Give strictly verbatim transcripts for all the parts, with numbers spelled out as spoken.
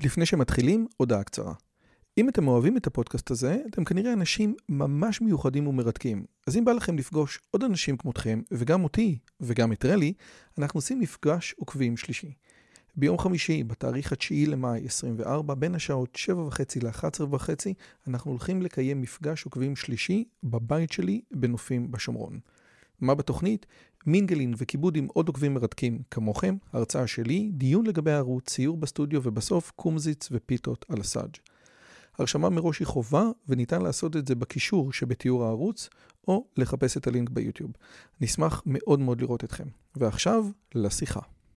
לפני שמתחילים, הודעה קצרה. אם אתם אוהבים את הפודקאסט הזה, אתם כנראה אנשים ממש מיוחדים ומרתקים. אז אם בא לכם לפגוש עוד אנשים כמותכם, וגם אותי, וגם את רלי, אנחנו עושים מפגש עוקבים שלישי. ביום חמישי, בתאריך התשיעי למאי עשרים וארבע, בין השעות שבע וחצי ל-אחת עשרה וחצי, אנחנו הולכים לקיים מפגש עוקבים שלישי בבית שלי בנופים בשומרון. מה בתוכנית? מינגלין וכיבוד עם עוד עוקבים מרתקים כמוכם, הרצאה שלי, דיון לגבי הערוץ, ציור בסטודיו ובסוף קומזיץ ופיתות על הסאג'. הרשמה מראש היא חובה וניתן לעשות את זה בקישור שבתיאור הערוץ או לחפש את הלינק ביוטיוב. נשמח מאוד מאוד לראות אתכם. ועכשיו לשיחה.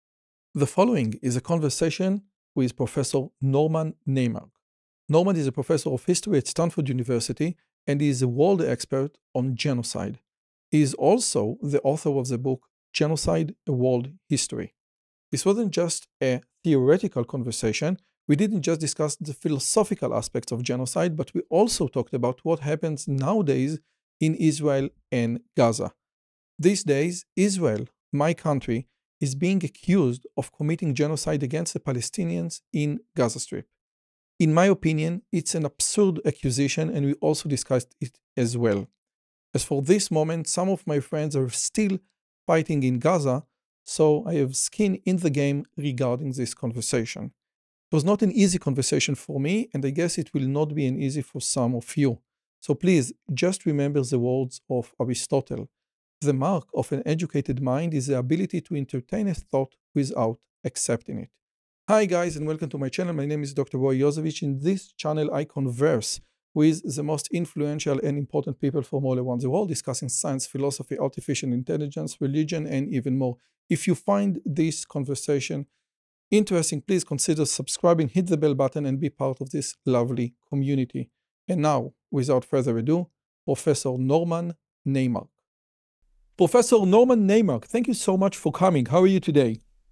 The following is a conversation with Professor Norman Naimark. Norman is a professor of history at Stanford University and he is a world expert on genocide. He is also the author of the book Genocide: A World History. This wasn't just a theoretical conversation. We didn't just discuss the philosophical aspects of genocide, but we also talked about what happens nowadays in Israel and Gaza. These days, Israel, my country, is being accused of committing genocide against the Palestinians in Gaza Strip. In my opinion, it's an absurd accusation, and we also discussed it as well. As for this moment, some of my friends are still fighting in Gaza, so I have skin in the game regarding this conversation. It was not an easy conversation for me, and I guess it will not be an easy for some of you. So please, just remember the words of Aristotle. The mark of an educated mind is the ability to entertain a thought without accepting it. Hi guys, and welcome to my channel. My name is Doctor Roy Yosevich. In this channel, I converse with the most influential and important people from all around the world, discussing science, philosophy, artificial intelligence, religion, and even more. If you find this conversation interesting, please consider subscribing, hit the bell button, and be part of this lovely community. And now, without further ado, Professor Norman Naimark. Professor Norman Naimark, thank you so much for coming. How are you today?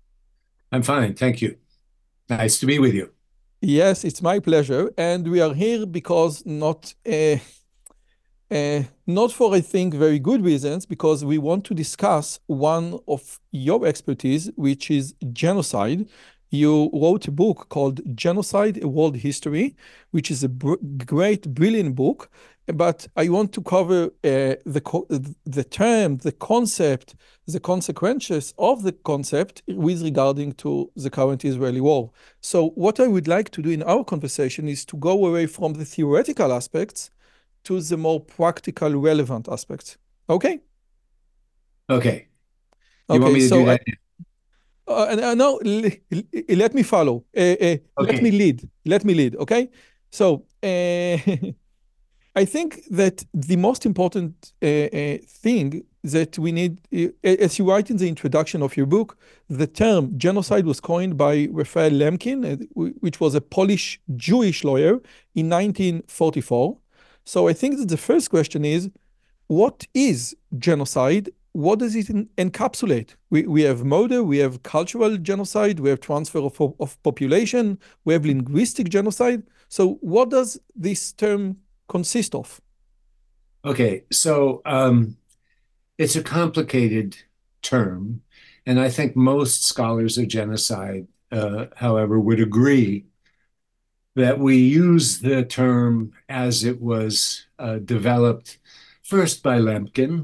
I'm fine, thank you. Nice to be with you. Yes, it's my pleasure. And we are here because not, uh, uh, not for, I think, very good reasons, because we want to discuss one of your expertise, which is genocide. You wrote a book called Genocide: A World History, which is a br- great, brilliant book. But I want to cover uh, the, co- the term, the concept, the consequences of the concept with regarding to the current Israeli war. So what I would like to do in our conversation is to go away from the theoretical aspects to the more practical, relevant aspects. Okay? Okay. You Okay, want me to so do that? I, Uh, and uh, no, l- l- let me follow. Uh, uh, Let me Okay. lead. Let me lead. Okay. So uh, I think that the most important uh, uh, thing that we need, uh, as you write in the introduction of your book, the term genocide was coined by Raphael Lemkin, uh, which was a Polish Jewish lawyer in nineteen forty-four. So I think that the first question is, what is genocide? What does it encapsulate? We, we have murder, we have cultural genocide, we have transfer of, of population, we have linguistic genocide. So what does this term consist of? Okay. So um, it's a complicated term, and I think most scholars of genocide, uh, however, would agree that we use the term as it was uh, developed first by Lemkin.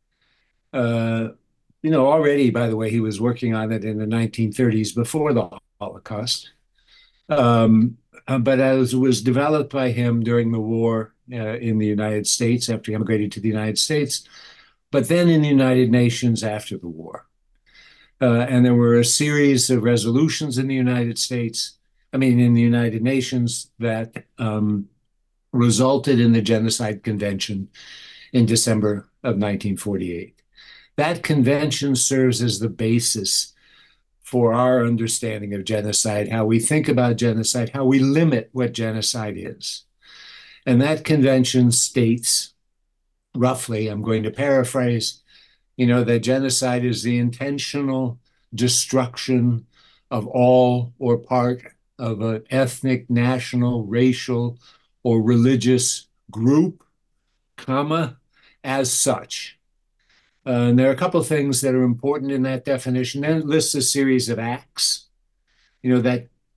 Uh, you know, already, by the way, he was working on it in the nineteen thirties before the Holocaust. Um, uh, but as it was developed by him during the war uh, in the United States after he immigrated to the United States, but then in the United Nations after the war. Uh, and there were a series of resolutions in the United States, I mean, in the United Nations that um, resulted in the Genocide Convention in December of nineteen forty-eight. That convention serves as the basis for our understanding of genocide, how we think about genocide, how we limit what genocide is. And that convention states, roughly, I'm going to paraphrase, you know, that genocide is the intentional destruction of all or part of an ethnic, national, racial, or religious group, comma, as such. Uh, and there are a couple of things that are important in that definition. Then it lists a series of acts, you know, that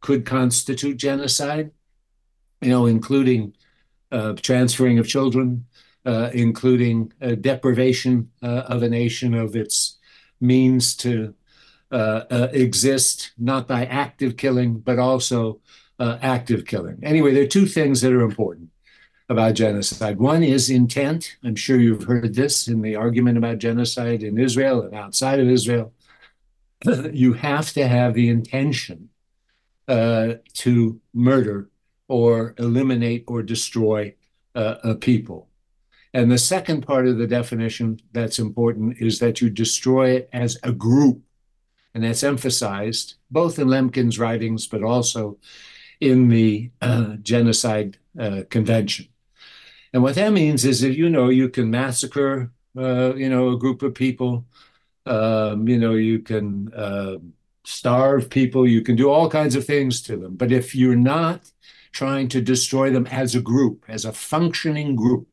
could constitute genocide, you know, including uh, transferring of children, uh, including uh, deprivation uh, of a nation of its means to uh, uh, exist, not by active killing, but also uh, active killing. Anyway, there are two things that are important about genocide. One is intent. I'm sure you've heard this in the argument about genocide in Israel and outside of Israel. You have to have the intention uh, to murder or eliminate or destroy uh, a people. And the second part of the definition that's important is that you destroy it as a group. And that's emphasized both in Lemkin's writings, but also in the uh, Genocide uh, Convention. And what that means is that, you know, you can massacre, uh, you know, a group of people, um, you know, you can uh, starve people, you can do all kinds of things to them. But if you're not trying to destroy them as a group, as a functioning group,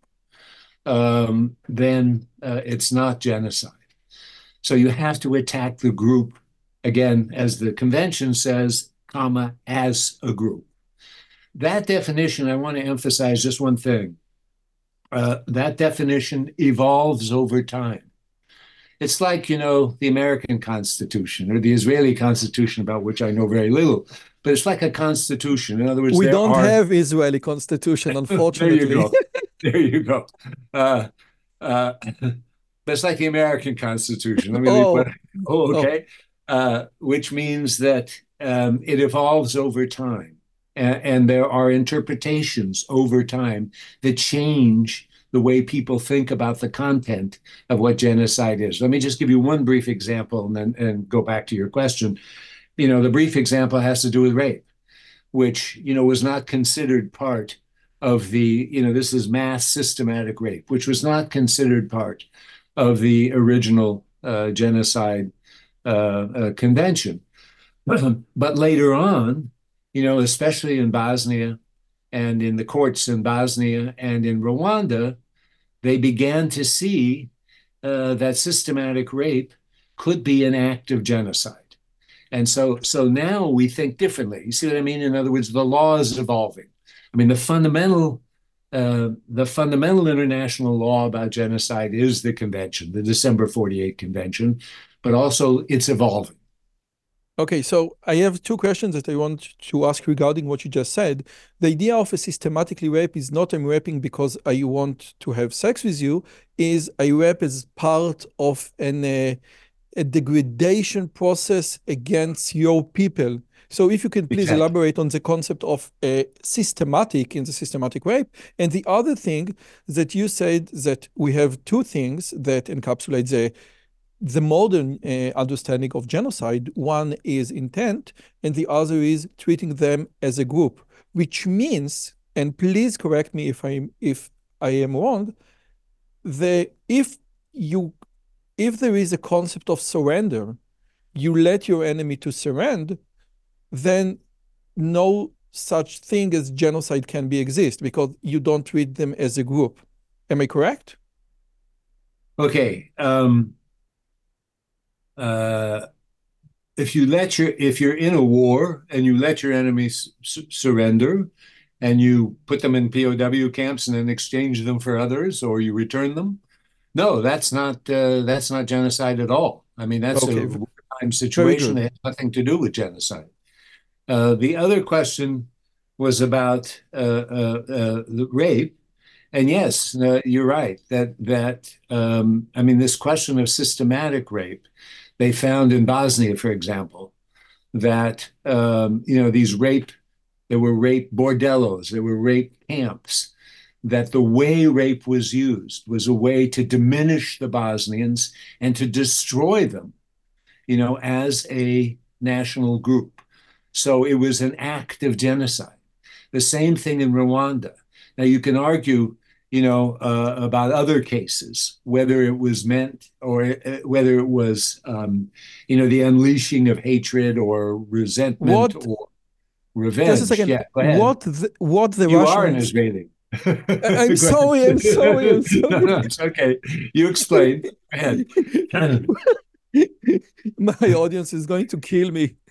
um, then uh, it's not genocide. So you have to attack the group, again, as the convention says, comma, as a group. That definition, I want to emphasize just one thing. Uh, that definition evolves over time. It's like, you know, the American Constitution or the Israeli Constitution, about which I know very little, but it's like a constitution. In other words, We there don't are... have Israeli constitution, unfortunately. There you go. There you go. Uh, uh, but it's like the American Constitution. Let me oh. leave, oh, okay. Oh. Uh, which means that um, it evolves over time. And there are interpretations over time that change the way people think about the content of what genocide is. Let me just give you one brief example and then and go back to your question. You know, the brief example has to do with rape, which, you know, was not considered part of the, you know, this is mass systematic rape, which was not considered part of the original uh, genocide uh, uh, convention. But later on, you know, especially in Bosnia and in the courts in Bosnia and in Rwanda, they began to see uh, that systematic rape could be an act of genocide. And so, so now we think differently. You see what I mean? In other words, the law is evolving. I mean, the fundamental, uh, the fundamental international law about genocide is the convention, the December forty-eight convention, but also it's evolving. Okay, so I have two questions that I want to ask regarding what you just said. The idea of a systematically rape is not I'm raping because I want to have sex with you, is I rape as part of an, uh, a degradation process against your people. So if you can please exactly. elaborate on the concept of a systematic in the systematic rape. And the other thing that you said that we have two things that encapsulate the the modern uh, understanding of genocide. One is intent, and the other is treating them as a group, which means, and please correct me if I'm if I am wrong, the if you if there is a concept of surrender, you let your enemy to surrender, then no such thing as genocide can be exist because you don't treat them as a group. Am I correct? Okay. Um... Uh, if you let your if you're in a war and you let your enemies su- surrender and you put them in P O W camps and then exchange them for others or you return them, no, that's not uh, that's not genocide at all. I mean, that's okay. a wartime situation that has nothing to do with genocide. Uh, the other question was about uh, uh, uh, the rape. And yes, uh, you're right that that um, I mean, this question of systematic rape. They found in Bosnia, for example, that, um, you know, these rape, there were rape bordellos, there were rape camps, that the way rape was used was a way to diminish the Bosnians and to destroy them, you know, as a national group. So it was an act of genocide. The same thing in Rwanda. Now, you can argue, you know, uh, about other cases, whether it was meant or uh, whether it was, um, you know, the unleashing of hatred or resentment what, or revenge. Just a second. Yeah, go ahead. What the, what the you Russians... are an Israeli. I'm sorry, I'm sorry, I'm sorry. No, no, it's okay. You explain. Go ahead. My audience is going to kill me.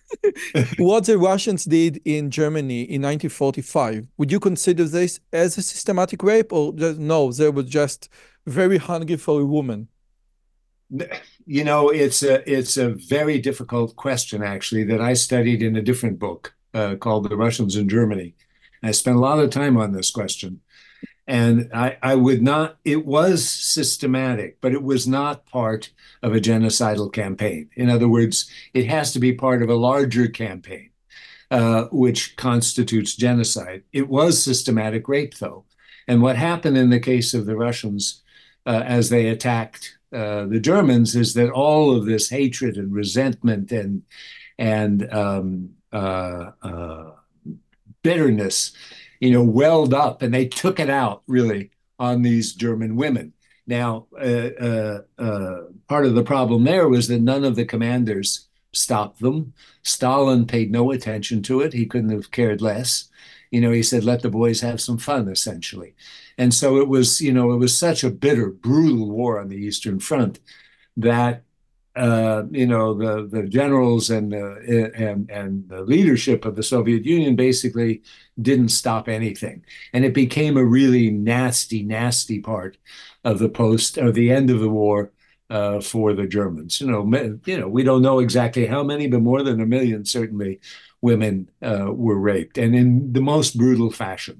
what the Russians did in Germany in nineteen forty-five, would you consider this as a systematic rape, or just, no, they were just very hungry for a woman? You know, it's a it's a very difficult question actually that I studied in a different book uh, called The Russians in Germany. I spent a lot of time on this question. And I, I would not, it was systematic, but it was not part of a genocidal campaign. In other words, it has to be part of a larger campaign, uh, which constitutes genocide. It was systematic rape, though. And what happened in the case of the Russians uh, as they attacked uh, the Germans is that all of this hatred and resentment and, and um, uh, uh, bitterness, you know, welled up, and they took it out really on these German women. Now, uh, uh, uh, part of the problem there was that none of the commanders stopped them. Stalin paid no attention to it. He couldn't have cared less. You know, he said, let the boys have some fun, essentially. And so it was, you know, it was such a bitter, brutal war on the Eastern Front that uh, you know, the the generals and the and and the leadership of the Soviet Union basically didn't stop anything, and it became a really nasty, nasty part of the post or the end of the war uh, for the Germans. You know, you know, we don't know exactly how many, but more than a million certainly women uh, were raped, and in the most brutal fashion.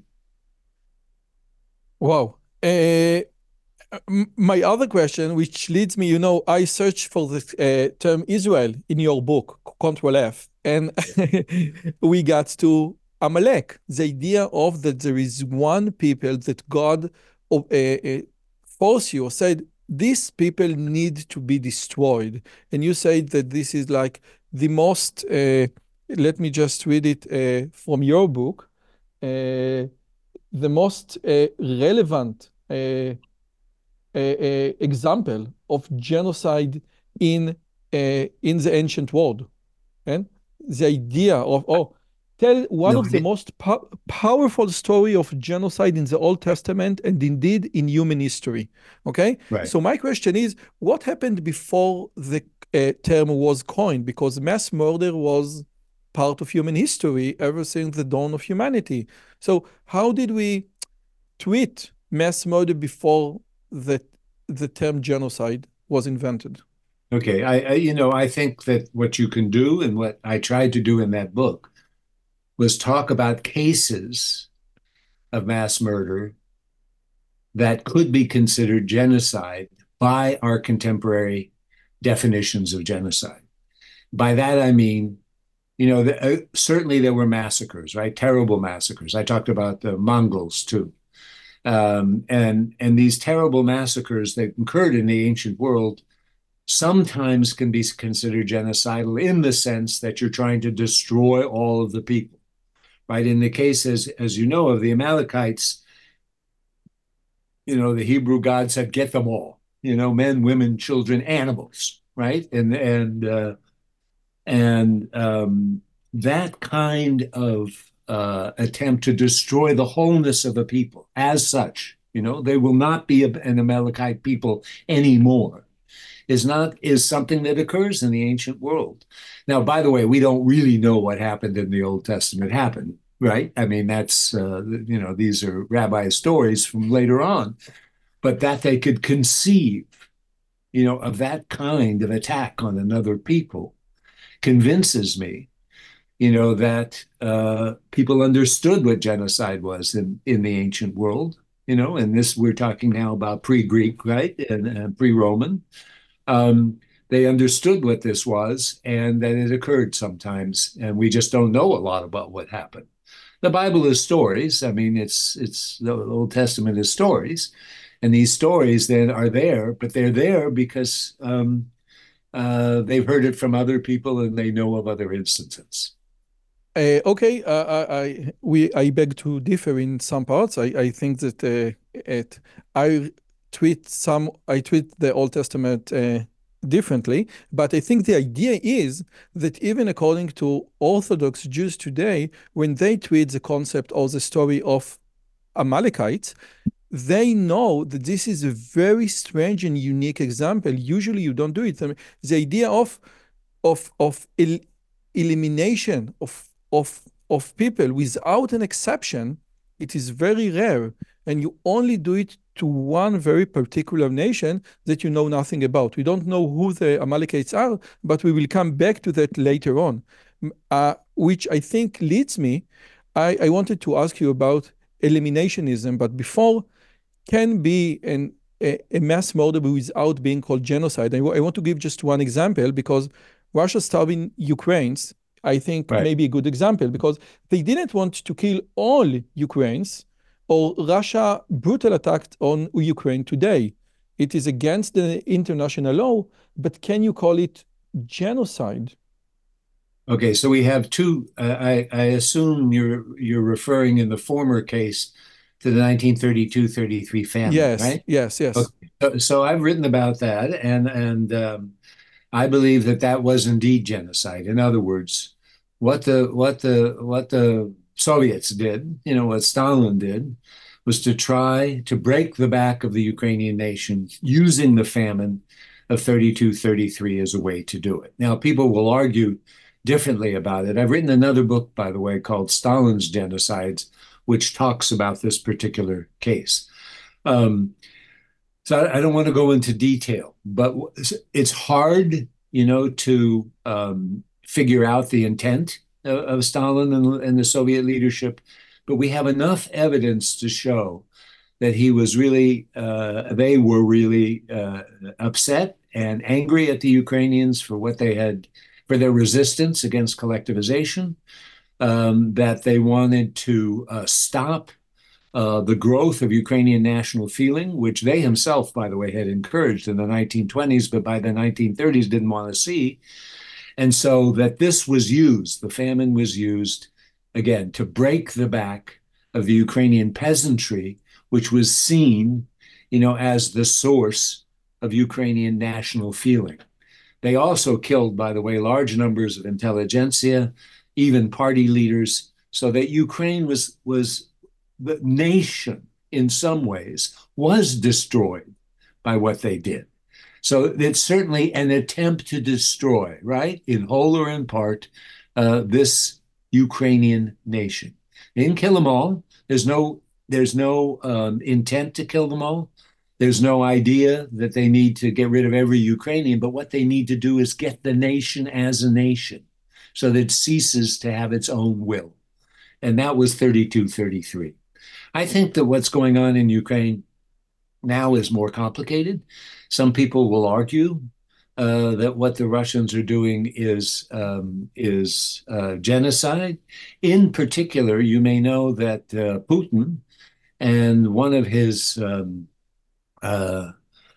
Wow. Uh, my other question, which leads me, you know, I searched for the uh, term Israel in your book, Control F, and we got to Amalek, the idea of that there is one people that God uh, uh, forced you or said, these people need to be destroyed. And you said that this is like the most, uh, let me just read it uh, from your book, uh, the most uh, relevant uh, a, a example of genocide in uh, in the ancient world, and the idea of oh, tell one No, of the it, most po powerful story of genocide in the Old Testament and indeed in human history. Okay, right. so my question is, what happened before the uh, term was coined? Because mass murder was part of human history ever since the dawn of humanity. So how did we treat mass murder before the the term genocide was invented? Okay, I, I you know I think that what you can do and what I tried to do in that book was talk about cases of mass murder that could be considered genocide by our contemporary definitions of genocide. By that I mean, you know, the, uh, certainly there were massacres, right? Terrible massacres. I talked about the Mongols too. Um, and and these terrible massacres that occurred in the ancient world sometimes can be considered genocidal in the sense that you're trying to destroy all of the people, right? In the case, as, as you know, of the Amalekites, you know, the Hebrew God said, get them all, you know, men, women, children, animals, right? And, and, uh, and um, that kind of uh, attempt to destroy the wholeness of a people as such, you know, they will not be a, an Amalekite people anymore, is not is something that occurs in the ancient world. Now, by the way, we don't really know what happened in the Old Testament happened, right? I mean, that's uh, you know these are rabbi stories from later on, but that they could conceive, you know, of that kind of attack on another people convinces me, you know, that uh, people understood what genocide was in in the ancient world, you know, and this we're talking now about pre-Greek, right, and, and pre-Roman. Um, they understood what this was and that it occurred sometimes, and we just don't know a lot about what happened. The Bible is stories. I mean, it's it's the Old Testament is stories, and these stories then are there, but they're there because um, uh, they've heard it from other people and they know of other instances. Uh, okay, uh, I, I we I beg to differ in some parts. I, I think that uh, it I treat some I treat the Old Testament uh, differently, but I think the idea is that even according to Orthodox Jews today, when they treat the concept or the story of Amalekites, they know that this is a very strange and unique example. Usually, you don't do it. I mean, the idea of of of elimination of, of, of people without an exception, it is very rare. And you only do it to one very particular nation that you know nothing about. We don't know who the Amalekites are, but we will come back to that later on, uh, which I think leads me, I, I wanted to ask you about eliminationism, but before, can be an, a, a mass murder without being called genocide. I, I want to give just one example because Russia starving Ukrainians, I think, Right. may be a good example because they didn't want to kill all Ukrainians, or Russia brutal attack on Ukraine today. It is against the international law, but can you call it genocide? Okay, so we have two. Uh, I, I assume you're you're referring in the former case to the nineteen thirty-two thirty-three famine, Yes, right? yes, yes. Okay. So, so I've written about that, and and um, I believe that that was indeed genocide. In other words, what the what the what the Soviets did, you know, what Stalin did, was to try to break the back of the Ukrainian nation using the famine of thirty-two thirty-three as a way to do it. Now, people will argue differently about it. I've written another book, by the way, called Stalin's Genocides, which talks about this particular case. Um, so I, I don't want to go into detail, but it's hard, you know, to um, figure out the intent of, of Stalin and, and the Soviet leadership. But we have enough evidence to show that he was really, uh, they were really uh, upset and angry at the Ukrainians for what they had, for their resistance against collectivization, um, that they wanted to uh, stop uh, the growth of Ukrainian national feeling, which they himself, by the way, had encouraged in the nineteen twenties, but by the nineteen thirties didn't want to see. And so that this was used, the famine was used, again, to break the back of the Ukrainian peasantry, which was seen, you know, as the source of Ukrainian national feeling. They also killed, by the way, large numbers of intelligentsia, even party leaders, so that Ukraine was, was the nation, in some ways, was destroyed by what they did. So it's certainly an attempt to destroy, right, in whole or in part, uh, this Ukrainian nation. They didn't kill them all. There's no, there's no um, intent to kill them all. There's no idea that they need to get rid of every Ukrainian, but what they need to do is get the nation as a nation so that it ceases to have its own will. And that was thirty-two thirty-three. I think that what's going on in Ukraine now is more complicated. Some people will argue uh, that what the Russians are doing is, um, is uh, genocide. In particular, you may know that uh, Putin and one of his um, uh,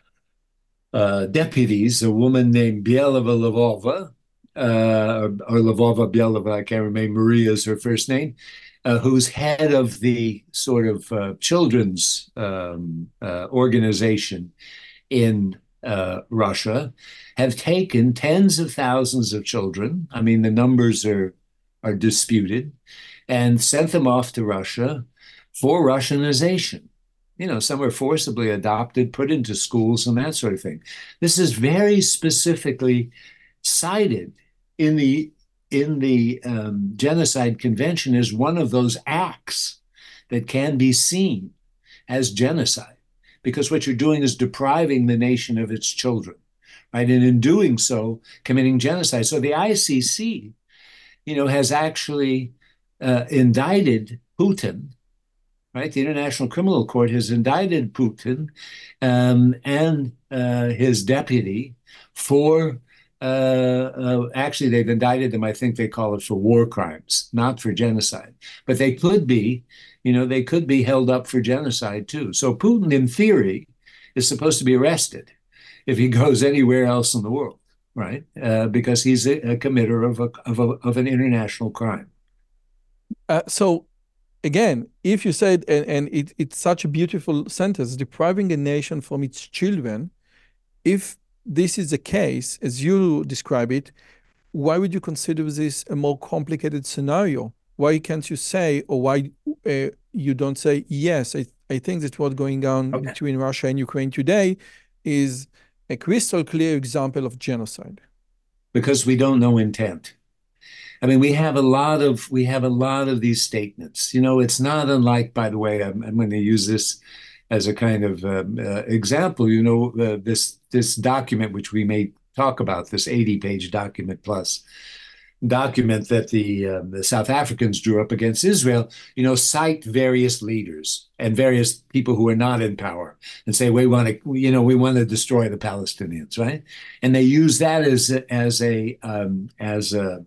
uh, deputies, a woman named Bielova Lvova, uh, or Lvova Bielova, I can't remember, Maria is her first name, uh, who's head of the sort of uh, children's um, uh, organization in uh, Russia, have taken tens of thousands of children. I mean, the numbers are are disputed, and sent them off to Russia for Russianization. You know, some are forcibly adopted, put into schools, and that sort of thing. This is very specifically cited in the in the um, Genocide Convention as one of those acts that can be seen as genocide, because what you're doing is depriving the nation of its children, right? And in doing so, committing genocide. So the I C C, you know, has actually uh, indicted Putin, right? The International Criminal Court has indicted Putin um, and uh, his deputy for, uh, uh, actually, they've indicted them, I think they call it for war crimes, not for genocide. But they could be, you know, they could be held up for genocide too. So Putin, in theory, is supposed to be arrested if he goes anywhere else in the world, right? Uh, because he's a, a committer of, a, of, a, of an international crime. Uh, so again, if you said, and, and it, it's such a beautiful sentence, depriving a nation from its children, if this is the case, as you describe it, why would you consider this a more complicated scenario? Why can't you say, or why uh, you don't say, yes, I, I think that what's going on Okay. between Russia and Ukraine today is a crystal clear example of genocide? Because we don't know intent. I mean, we have a lot of we have a lot of these statements. You know, it's not unlike, by the way, I'm, I'm going to use this as a kind of um, uh, example. You know, uh, this this document, which we may talk about, this eighty page document plus document that the uh, the South Africans drew up against Israel, you know, cite various leaders and various people who are not in power and say we want to, you know, we want to destroy the Palestinians, right? And they use that as a, as a um, as a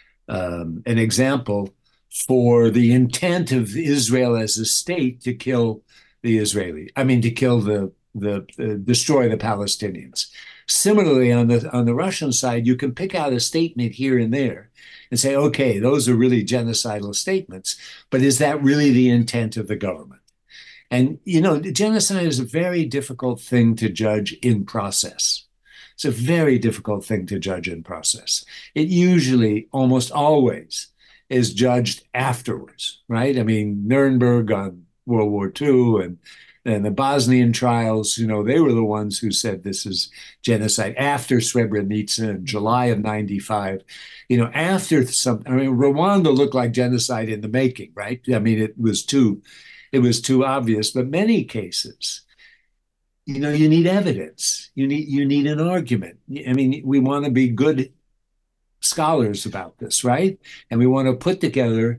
um, an example for the intent of Israel as a state to kill the Israeli, I mean, to kill the the, the destroy the Palestinians. Similarly, on the on the Russian side, you can pick out a statement here and there and say, okay, those are really genocidal statements, but is that really the intent of the government? And, you know, genocide is a very difficult thing to judge in process. It's a very difficult thing to judge in process. It usually, almost always, is judged afterwards, right? I mean, Nuremberg on World War Two and and the Bosnian trials, you know, they were the ones who said this is genocide after Srebrenica in July of ninety-five. You know, after some, I mean, Rwanda looked like genocide in the making, right? I mean, it was too, it was too obvious. But many cases, you know, you need evidence. You need you need an argument. I mean, we want to be good scholars about this, right? And we want to put together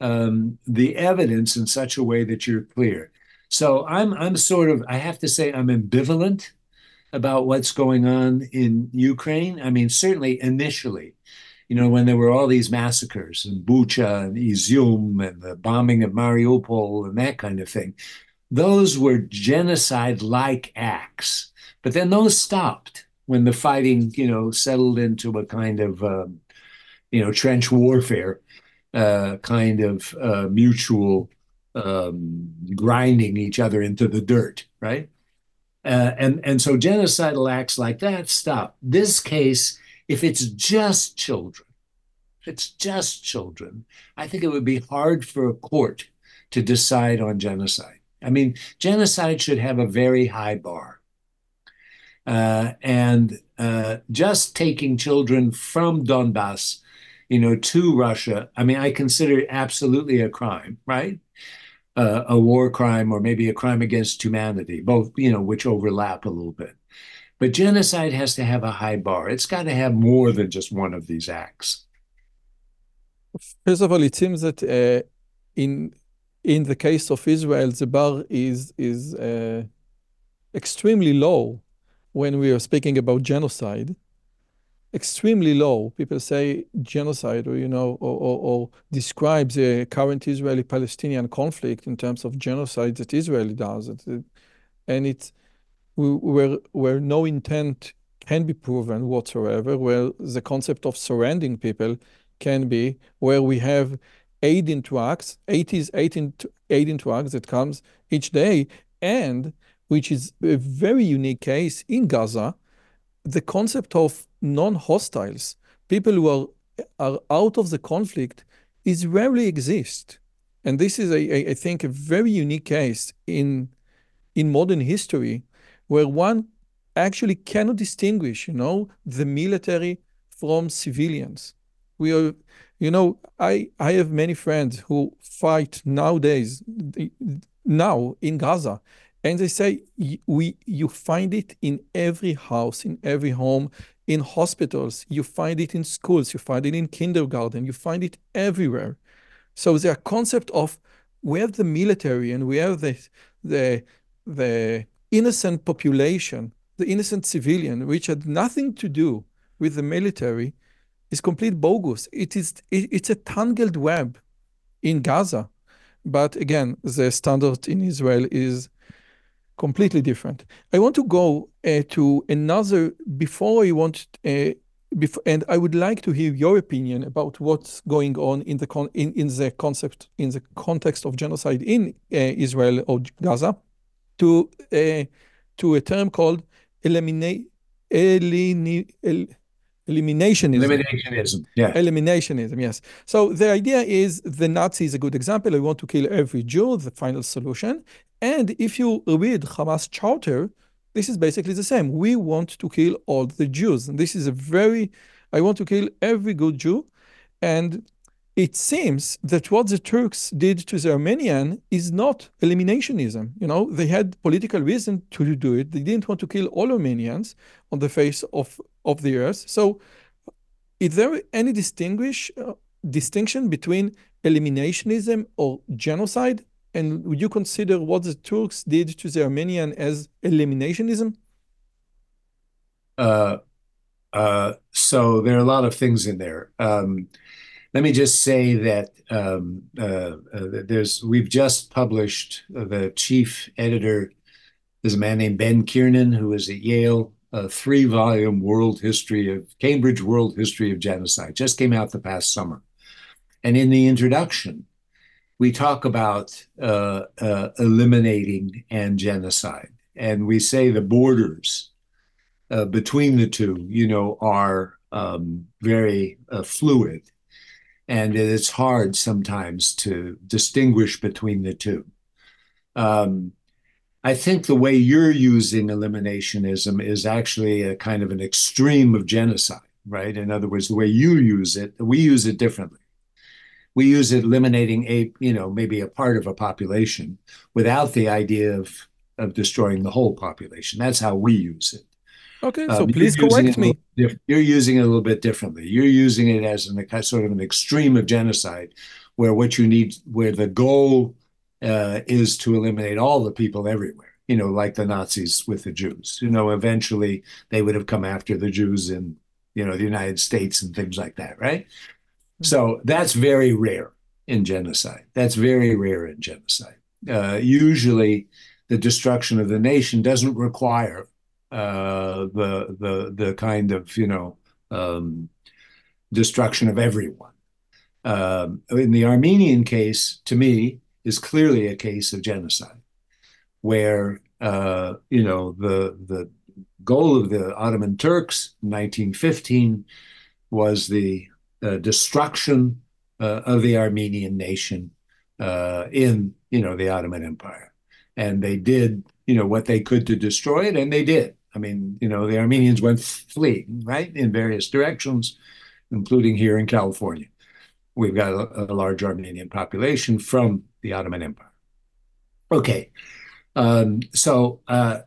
um, the evidence in such a way that you're clear. So I'm I'm sort of, I have to say I'm ambivalent about what's going on in Ukraine. I mean, certainly initially, you know, when there were all these massacres in Bucha and Izium and the bombing of Mariupol and that kind of thing, those were genocide-like acts. But then those stopped when the fighting, you know, settled into a kind of, um, you know, trench warfare, uh, kind of uh, mutual Um, grinding each other into the dirt, right? Uh, and, and so genocidal acts like that stop. This case, if it's just children, if it's just children, I think it would be hard for a court to decide on genocide. I mean, genocide should have a very high bar. Uh, and uh, just taking children from Donbass, you know, to Russia, I mean, I consider it absolutely a crime, right? Uh, a war crime or maybe a crime against humanity, both, you know, which overlap a little bit. But genocide has to have a high bar. It's got to have more than just one of these acts. First of all, it seems that uh, in in the case of Israel, the bar is is uh, extremely low when we are speaking about genocide. Extremely low. People say genocide, or you know, or, or, or describe the current Israeli-Palestinian conflict in terms of genocide that Israel does, and it's where where no intent can be proven whatsoever, where the concept of surrounding people can be, where we have aid into acts, eighties aid into aid into acts that comes each day, and which is a very unique case in Gaza, the concept of non-hostiles, people who are, are out of the conflict, is rarely exist. And this is, a, a, I think, a very unique case in, in modern history where one actually cannot distinguish, you know, the military from civilians. We are, you know, I, I have many friends who fight nowadays, now in Gaza. And they say, we, you find it in every house, in every home, in hospitals, you find it in schools, you find it in kindergarten, you find it everywhere. So the concept of we have the military and we have the, the, the innocent population, the innocent civilian, which had nothing to do with the military, is complete bogus. It is, it, it's a tangled web in Gaza. But again, the standard in Israel is completely different. I want to go uh, to another, before I want, uh, before, and I would like to hear your opinion about what's going on in the con in, in the concept, in the context of genocide in uh, Israel or Gaza, to uh, to a term called eliminate, elimina, el, eliminationism. Eliminationism, yeah. Eliminationism, yes. So the idea is the Nazi is a good example. I want to kill every Jew, the final solution. And if you read Hamas charter, this is basically the same. We want to kill all the Jews. And this is a very, I want to kill every good Jew. And it seems that what the Turks did to the Armenian is not eliminationism. You know, they had political reason to do it. They didn't want to kill all Armenians on the face of, of the earth. So is there any distinguish uh, distinction between eliminationism or genocide? And would you consider what the Turks did to the Armenian as eliminationism? Uh, uh, so there are a lot of things in there. Um, let me just say that um, uh, uh, there's we've just published uh, the chief editor is a man named Ben Kiernan, who is at Yale, a three-volume world history of Cambridge World History of Genocide. Just came out the past summer. And in the introduction, we talk about uh, uh, eliminating and genocide. And we say the borders uh, between the two, you know, are um, very uh, fluid. And it's hard sometimes to distinguish between the two. Um, I think the way you're using eliminationism is actually a kind of an extreme of genocide, right? In other words, the way you use it, we use it differently. We use it eliminating a, you know, maybe a part of a population without the idea of, of destroying the whole population. That's how we use it. Okay, so Um, please you're using it correct a little me. diff- you're using it a little bit differently. You're using it as an, a sort of an extreme of genocide, where what you need, where the goal uh, is to eliminate all the people everywhere. You know, like the Nazis with the Jews. You know, eventually they would have come after the Jews in, you know, the United States and things like that, right? So that's very rare in genocide. That's very rare in genocide. Uh, usually, the destruction of the nation doesn't require uh, the the the kind of you know um, destruction of everyone. Um, in the Armenian case, to me, is clearly a case of genocide, where uh, you know the the goal of the Ottoman Turks in nineteen fifteen was the uh, destruction uh, of the Armenian nation uh, in you know the Ottoman Empire, and they did you know what they could to destroy it, and they did. I mean, you know, the Armenians went fleeing right in various directions, including here in California. We've got a, a large Armenian population from the Ottoman Empire. Okay, um, so uh,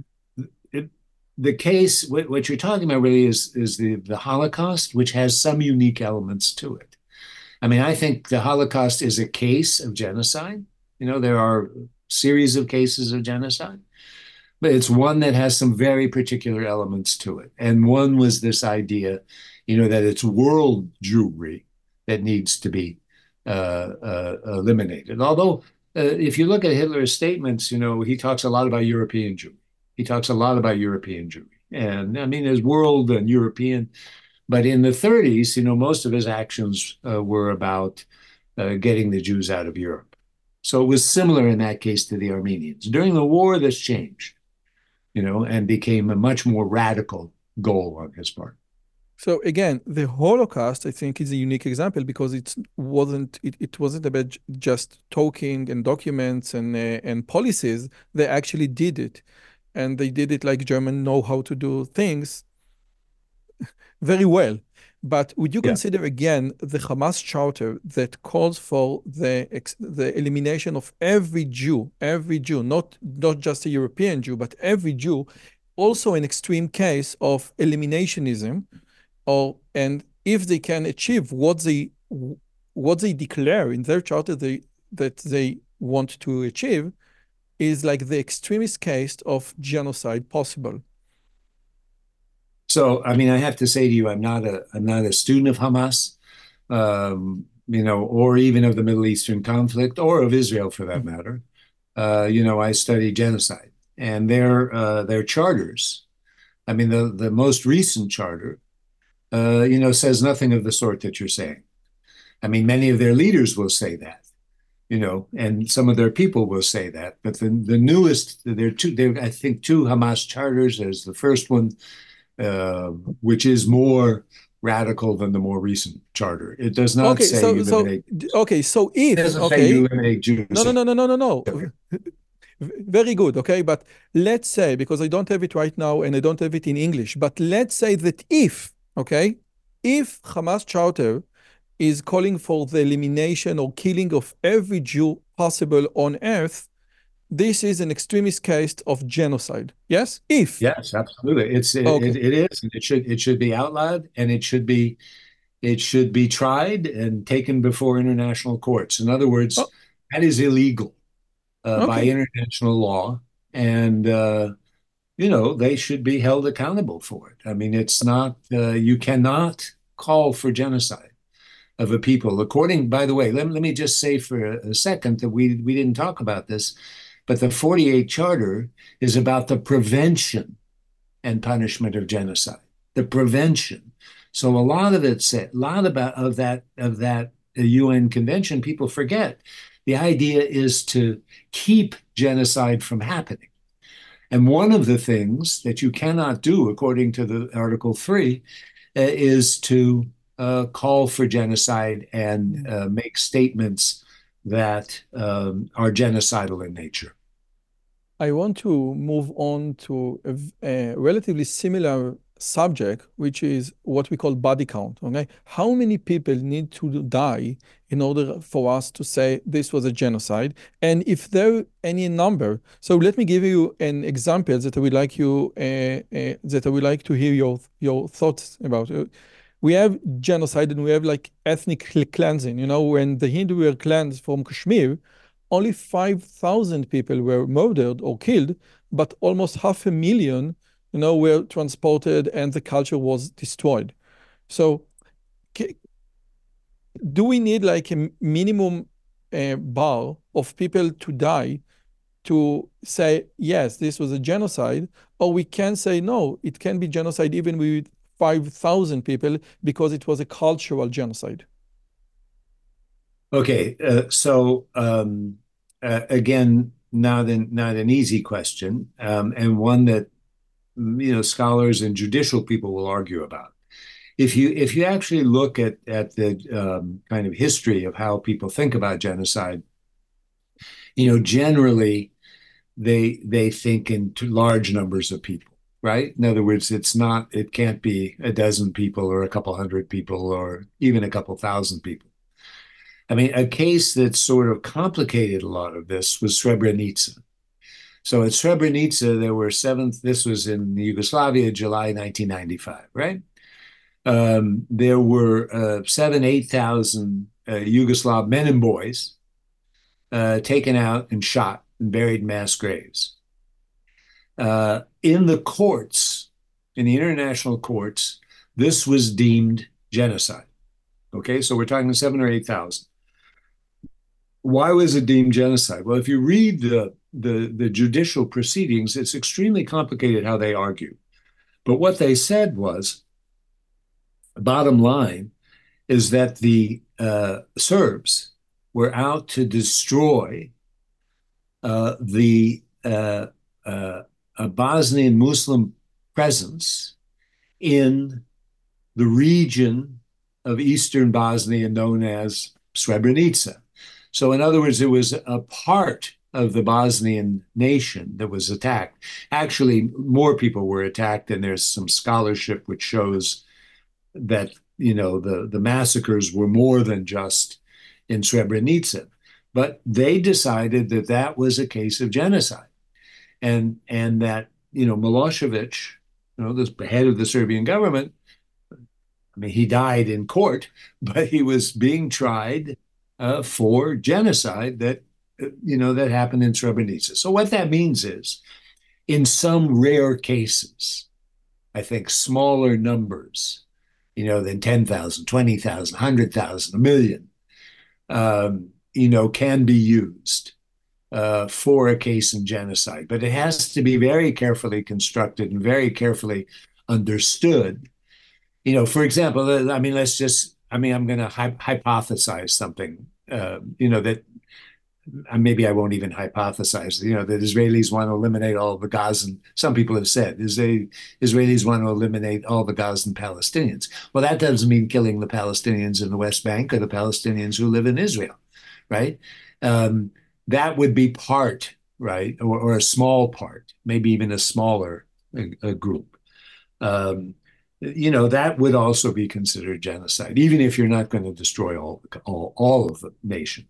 it, the case, what, what, you're talking about really is, is the, the Holocaust, which has some unique elements to it. I mean, I think the Holocaust is a case of genocide. You know, there are a series of cases of genocide, but it's one that has some very particular elements to it. And one was this idea, you know, that it's world Jewry that needs to be uh, uh, eliminated. Although, uh, if you look at Hitler's statements, you know, he talks a lot about European Jewry. He talks a lot about European Jewry. And I mean, there's world and European. But in the thirties, you know, most of his actions uh, were about uh, getting the Jews out of Europe. So it was similar in that case to the Armenians. During the war, this changed, you know, and became a much more radical goal on his part. So again, the Holocaust, I think, is a unique example because it wasn't it, it wasn't about just talking and documents and uh, and policies. They actually did it, and they did it like Germans know how to do things very well. But would you Yeah. consider again the Hamas charter that calls for the the elimination of every Jew, every Jew, not not just a European Jew, but every Jew, also an extreme case of eliminationism? Or and if they can achieve what they what they declare in their charter they, that they want to achieve, is like the extremist case of genocide possible. So, I mean, I have to say to you, I'm not a I'm not a student of Hamas, um, you know, or even of the Middle Eastern conflict, or of Israel for that matter. Uh, you know, I study genocide, and their uh, their charters. I mean, the the most recent charter. Uh, you know, says nothing of the sort that you're saying. I mean, many of their leaders will say that, you know, and some of their people will say that. But the the newest, there are two, there I think two Hamas charters. There's the first one, uh, which is more radical than the more recent charter. It does not Okay, say so you so eliminate. okay, so It if doesn't say you okay, eliminate Jews. no no no no no no no. Okay. Very good, okay, but let's say, because I don't have it right now and I don't have it in English, but let's say that if, okay, if Hamas charter is calling for the elimination or killing of every Jew possible on earth, this is an extremist case of genocide. Yes? If. Yes, absolutely. It's it, Okay. it, it is, and it should it should be outlawed, and it should be it should be tried and taken before international courts. In other words, Oh, that is illegal uh, by okay. international law, and uh, you know they should be held accountable for it. I mean, it's not uh, you cannot call for genocide of a people. According, by the way, let, let me just say for a, a second that we we didn't talk about this, but the forty-eight Charter is about the prevention and punishment of genocide, the prevention. So a lot of it said, a lot about of that of that U N convention, people forget. The idea is to keep genocide from happening. And one of the things that you cannot do, according to the Article Three, uh, is to uh, call for genocide and uh, make statements that um, are genocidal in nature. I want to move on to a, v- a relatively similar subject, which is what we call body count. Okay, how many people need to die in order for us to say this was a genocide? And if there any number, so let me give you an example that I would like you uh, uh, that I would like to hear your your thoughts about. Uh, We have genocide and we have like ethnic cleansing. You know, when the Hindu were cleansed from Kashmir, only five thousand people were murdered or killed, but almost half a million, you know, were transported and the culture was destroyed. So do we need like a minimum uh, bar of people to die to say, yes, this was a genocide, or we can say, no, it can be genocide even with five thousand people because it was a cultural genocide? Okay, uh, so um, uh, again, not an not an easy question, um, and one that you know scholars and judicial people will argue about. If you if you actually look at at the um, kind of history of how people think about genocide, you know, generally they they think in large numbers of people, right? In other words, it's not it can't be a dozen people or a couple hundred people or even a couple thousand people. I mean, a case that sort of complicated a lot of this was Srebrenica. So at Srebrenica, there were seven, this was in Yugoslavia, July nineteen ninety-five, right? Um, there were uh, seven, eight thousand uh, Yugoslav men and boys uh, taken out and shot and buried in mass graves. Uh, in the courts, in the international courts, this was deemed genocide. Okay, so we're talking seven or eight thousand. Why was it deemed genocide? Well, if you read the, the, the judicial proceedings, it's extremely complicated how they argue. But what they said was, bottom line, is that the uh, Serbs were out to destroy uh, the uh, uh, Bosnian Muslim presence in the region of eastern Bosnia known as Srebrenica. So, in other words, it was a part of the Bosnian nation that was attacked. Actually, more people were attacked, and there's some scholarship which shows that you know the the massacres were more than just in Srebrenica. But they decided that that was a case of genocide, and and that you know Milosevic, you know, the head of the Serbian government, I mean, he died in court, but he was being tried uh, for genocide that, uh, you know, that happened in Srebrenica. So what that means is, in some rare cases, I think smaller numbers, you know, than ten thousand, twenty thousand, one hundred thousand, a million, um, you know, can be used uh, for a case in genocide. But it has to be very carefully constructed and very carefully understood. You know, for example, I mean, let's just, I mean, I'm going to hy- hypothesize something, uh, you know, that uh, maybe I won't even hypothesize, you know, that Israelis want to eliminate all of the Gazan. Some people have said is they, Israelis want to eliminate all the Gazan Palestinians. Well, that doesn't mean killing the Palestinians in the West Bank or the Palestinians who live in Israel, right? Um, that would be part, right, or, or a small part, maybe even a smaller a, a group. Um, you know, that would also be considered genocide, even if you're not going to destroy all, all, all of the nation.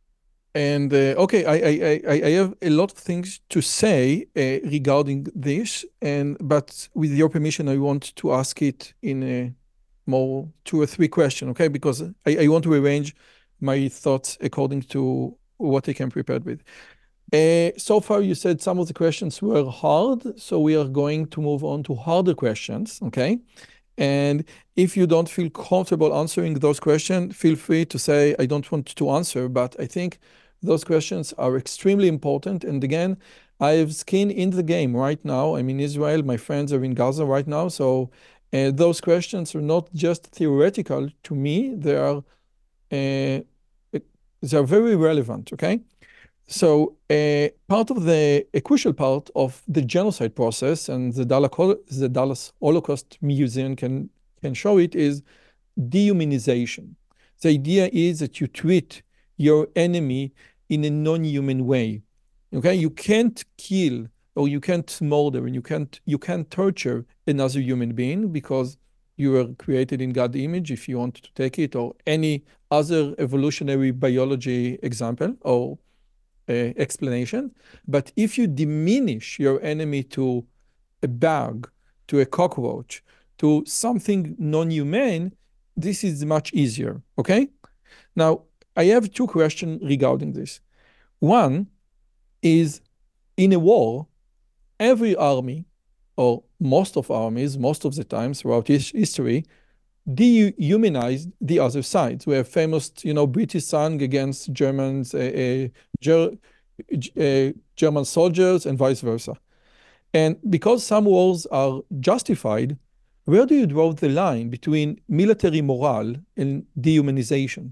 And uh, okay, I, I, I, I have a lot of things to say uh, regarding this, and but with your permission, I want to ask it in a more two or three questions, okay? Because I, I want to arrange my thoughts according to what I can prepare with. Uh, so far, you said some of the questions were hard, so we are going to move on to harder questions, okay? And if you don't feel comfortable answering those questions, feel free to say, I don't want to answer, but I think those questions are extremely important. And again, I have skin in the game right now. I'm in Israel. My friends are in Gaza right now. So uh, those questions are not just theoretical to me. They are, uh, they are very relevant, okay? So uh, part of the, a crucial part of the genocide process, and the Dallas, the Dallas Holocaust Museum can, can show it, is dehumanization. The idea is that you treat your enemy in a non-human way. Okay, you can't kill or you can't murder and you can't you can't torture another human being because you were created in God's image, if you want to take it, or any other evolutionary biology example or uh, explanation. But if you diminish your enemy to a bug, to a cockroach, to something non-human, this is much easier, okay? Now, I have two questions regarding this. One is, in a war, every army, or most of armies, most of the times throughout history, dehumanized the other side. We have famous, you know, British song against Germans, uh, uh, Ger uh, German soldiers, and vice versa. And because some wars are justified, where do you draw the line between military morale and dehumanization?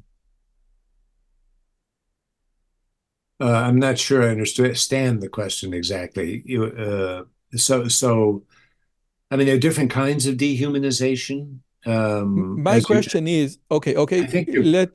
Uh, I'm not sure I understand the question exactly. You, uh, so, so, I mean, there are different kinds of dehumanization. Um, My as you, question is, okay, I okay, think you're let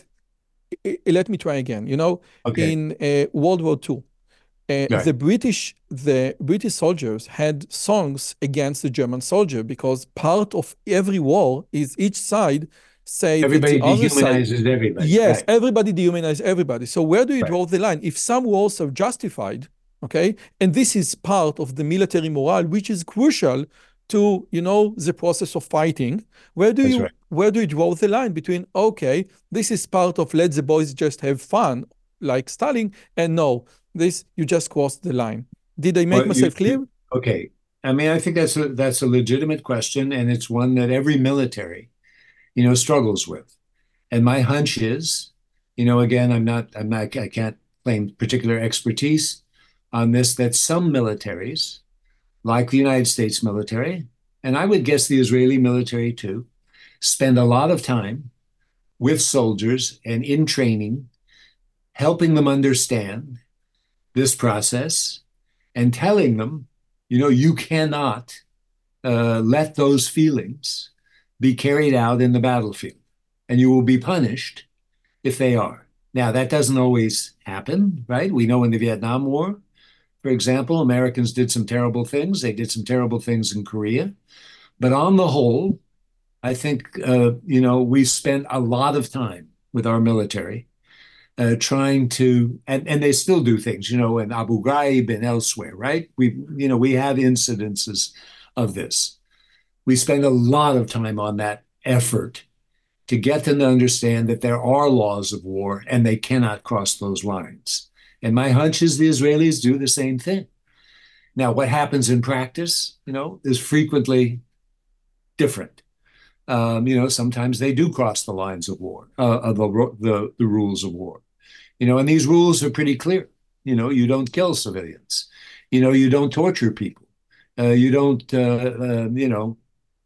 let me try again. You know, okay. in uh, World War Two, uh, Right. the British the British soldiers had songs against the German soldier because part of every war is each side say that the Everybody other side, dehumanizes everybody. yes, Right. everybody dehumanize everybody. So where do you Right. draw the line? If some wars are justified, okay, and this is part of the military morale, which is crucial to, you know, the process of fighting, where do That's you right. where do you draw the line between, okay, this is part of let the boys just have fun, like Stalin, and no, this you just crossed the line. Did I make Well, you, myself clear? okay. I mean, I think that's a that's a legitimate question, and it's one that every military, you know, struggles with. And my hunch is, you know, again, I'm not, I'm not, I can't claim particular expertise on this, that some militaries, like the United States military, and I would guess the Israeli military too, spend a lot of time with soldiers and in training, helping them understand this process and telling them, you know, you cannot uh, let those feelings be carried out in the battlefield, and you will be punished if they are. Now, that doesn't always happen, right? We know in the Vietnam War, for example, Americans did some terrible things. They did some terrible things in Korea. But on the whole, I think, uh, you know, we spent a lot of time with our military uh, trying to, and, and they still do things, you know, in Abu Ghraib and elsewhere, right? We, you know, we have incidences of this. We spend a lot of time on that effort to get them to understand that there are laws of war and they cannot cross those lines. And my hunch is the Israelis do the same thing. Now, what happens in practice, you know, is frequently different. Um, you know, sometimes they do cross the lines of war, uh, of the, the the rules of war. You know, and these rules are pretty clear. You know, you don't kill civilians. You know, you don't torture people. Uh, you don't, uh, uh, you know,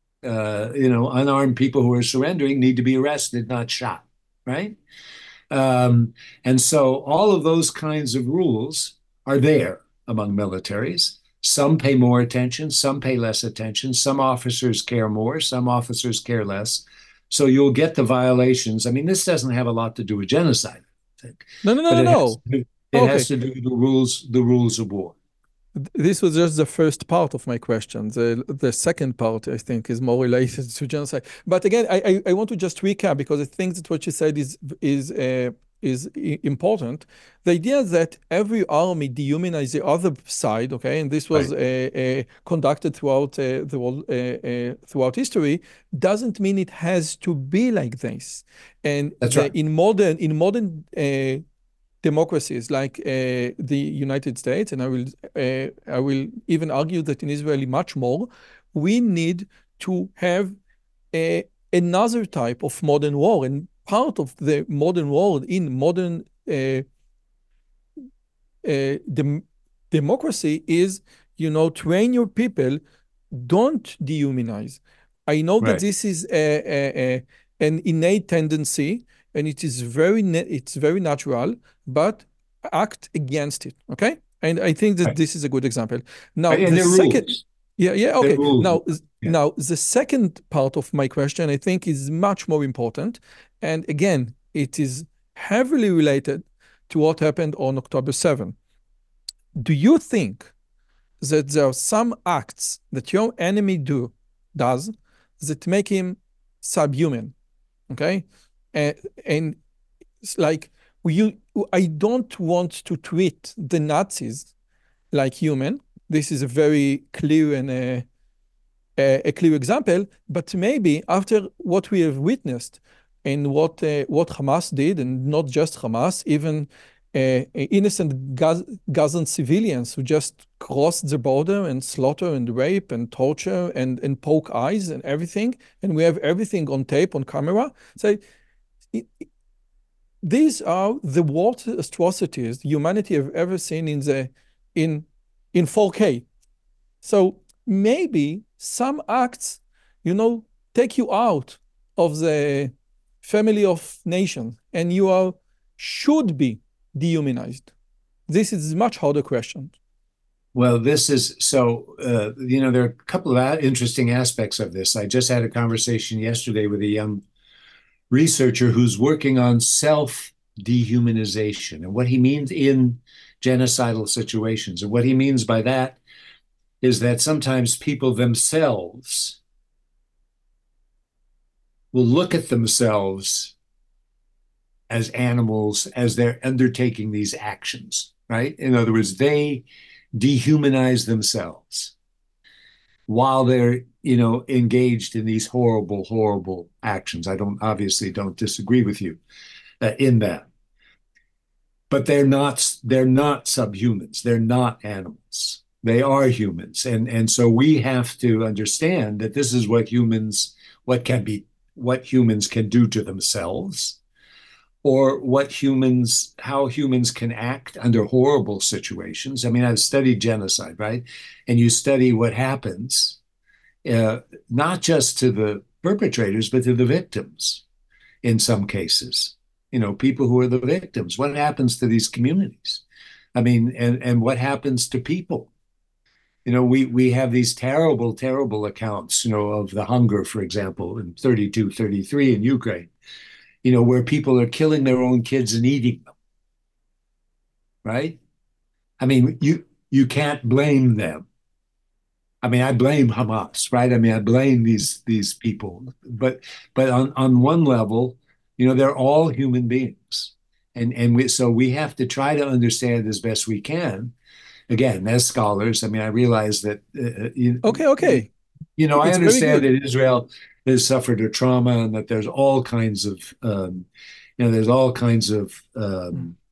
uh, you know, unarmed people who are surrendering need to be arrested, not shot, right? Um, and so all of those kinds of rules are there among militaries. Some pay more attention, some pay less attention. Some officers care more, some officers care less. So you'll get the violations. I mean, this doesn't have a lot to do with genocide, I think, No, no, no, but no, it has no. to do, it Okay. has to do with the rules, the rules of war. This was just the first part of my question. The the second part, I think, is more related to genocide. But again, I I, I want to just recap because I think that what you said is is uh, is important. The idea that every army dehumanizes the other side, okay, and this was Right. uh, uh, conducted throughout uh, the world uh, uh, throughout history, doesn't mean it has to be like this. And That's the right. in modern in modern uh, democracies like uh, the United States, and I will uh, I will even argue that in Israel much more, we need to have a, another type of modern war, and part of the modern war in modern uh, uh, dem democracy is, you know, train your people, don't dehumanize. I know that Right. this is a, a, a, an innate tendency, and it is very it's very natural, but act against it. Okay, and I think that Right. this is a good example. Now, And the there are second, rules. yeah, yeah, There are okay. rules. Now, Yeah. now the second part of my question, I think, is much more important, and again, it is heavily related to what happened on October seventh. Do you think that there are some acts that your enemy do does that make him subhuman? Okay, and, and it's like you, I don't want to treat the Nazis like human. This is a very clear and a, a, a clear example. But maybe after what we have witnessed and what uh, what Hamas did, and not just Hamas, even uh, innocent Gaz Gazan civilians who just crossed the border and slaughter and rape and torture and, and poke eyes and everything, and we have everything on tape, on camera. So it, these are the worst atrocities humanity have ever seen in the in in four K. So maybe some acts, you know, take you out of the family of nations, and you are should be dehumanized. This is a much harder question. Well, this is so, uh, you know, there are a couple of interesting aspects of this. I just had a conversation yesterday with a young researcher who's working on self dehumanization and what he means in genocidal situations. And what he means by that is that sometimes people themselves will look at themselves as animals as they're undertaking these actions, right? In other words, they dehumanize themselves while they're, you know, engaged in these horrible, horrible actions. I don't obviously don't disagree with you uh, in that, but they're not they're not subhumans. They're not animals. They are humans, and and so we have to understand that this is what humans what can be what humans can do to themselves, or what humans how humans can act under horrible situations. I mean, I've studied genocide, right? And you study what happens, uh, not just to the perpetrators, but to the victims in some cases. You know, people who are the victims. What happens to these communities? I mean, and and what happens to people? You know, we we have these terrible, terrible accounts, you know, of the hunger, for example, in thirty-two, thirty-three in Ukraine, you know, where people are killing their own kids and eating them, right? I mean, you you can't blame them. I mean, I blame Hamas, right? I mean, I blame these these people, but but on on one level, you know, they're all human beings, and and we, so we have to try to understand as best we can. Again, as scholars, I mean, I realize that uh, you, Okay, okay, you know, I it's very understand good. that Israel has suffered a trauma and that there's all kinds of um, you know, there's all kinds of Mm. um,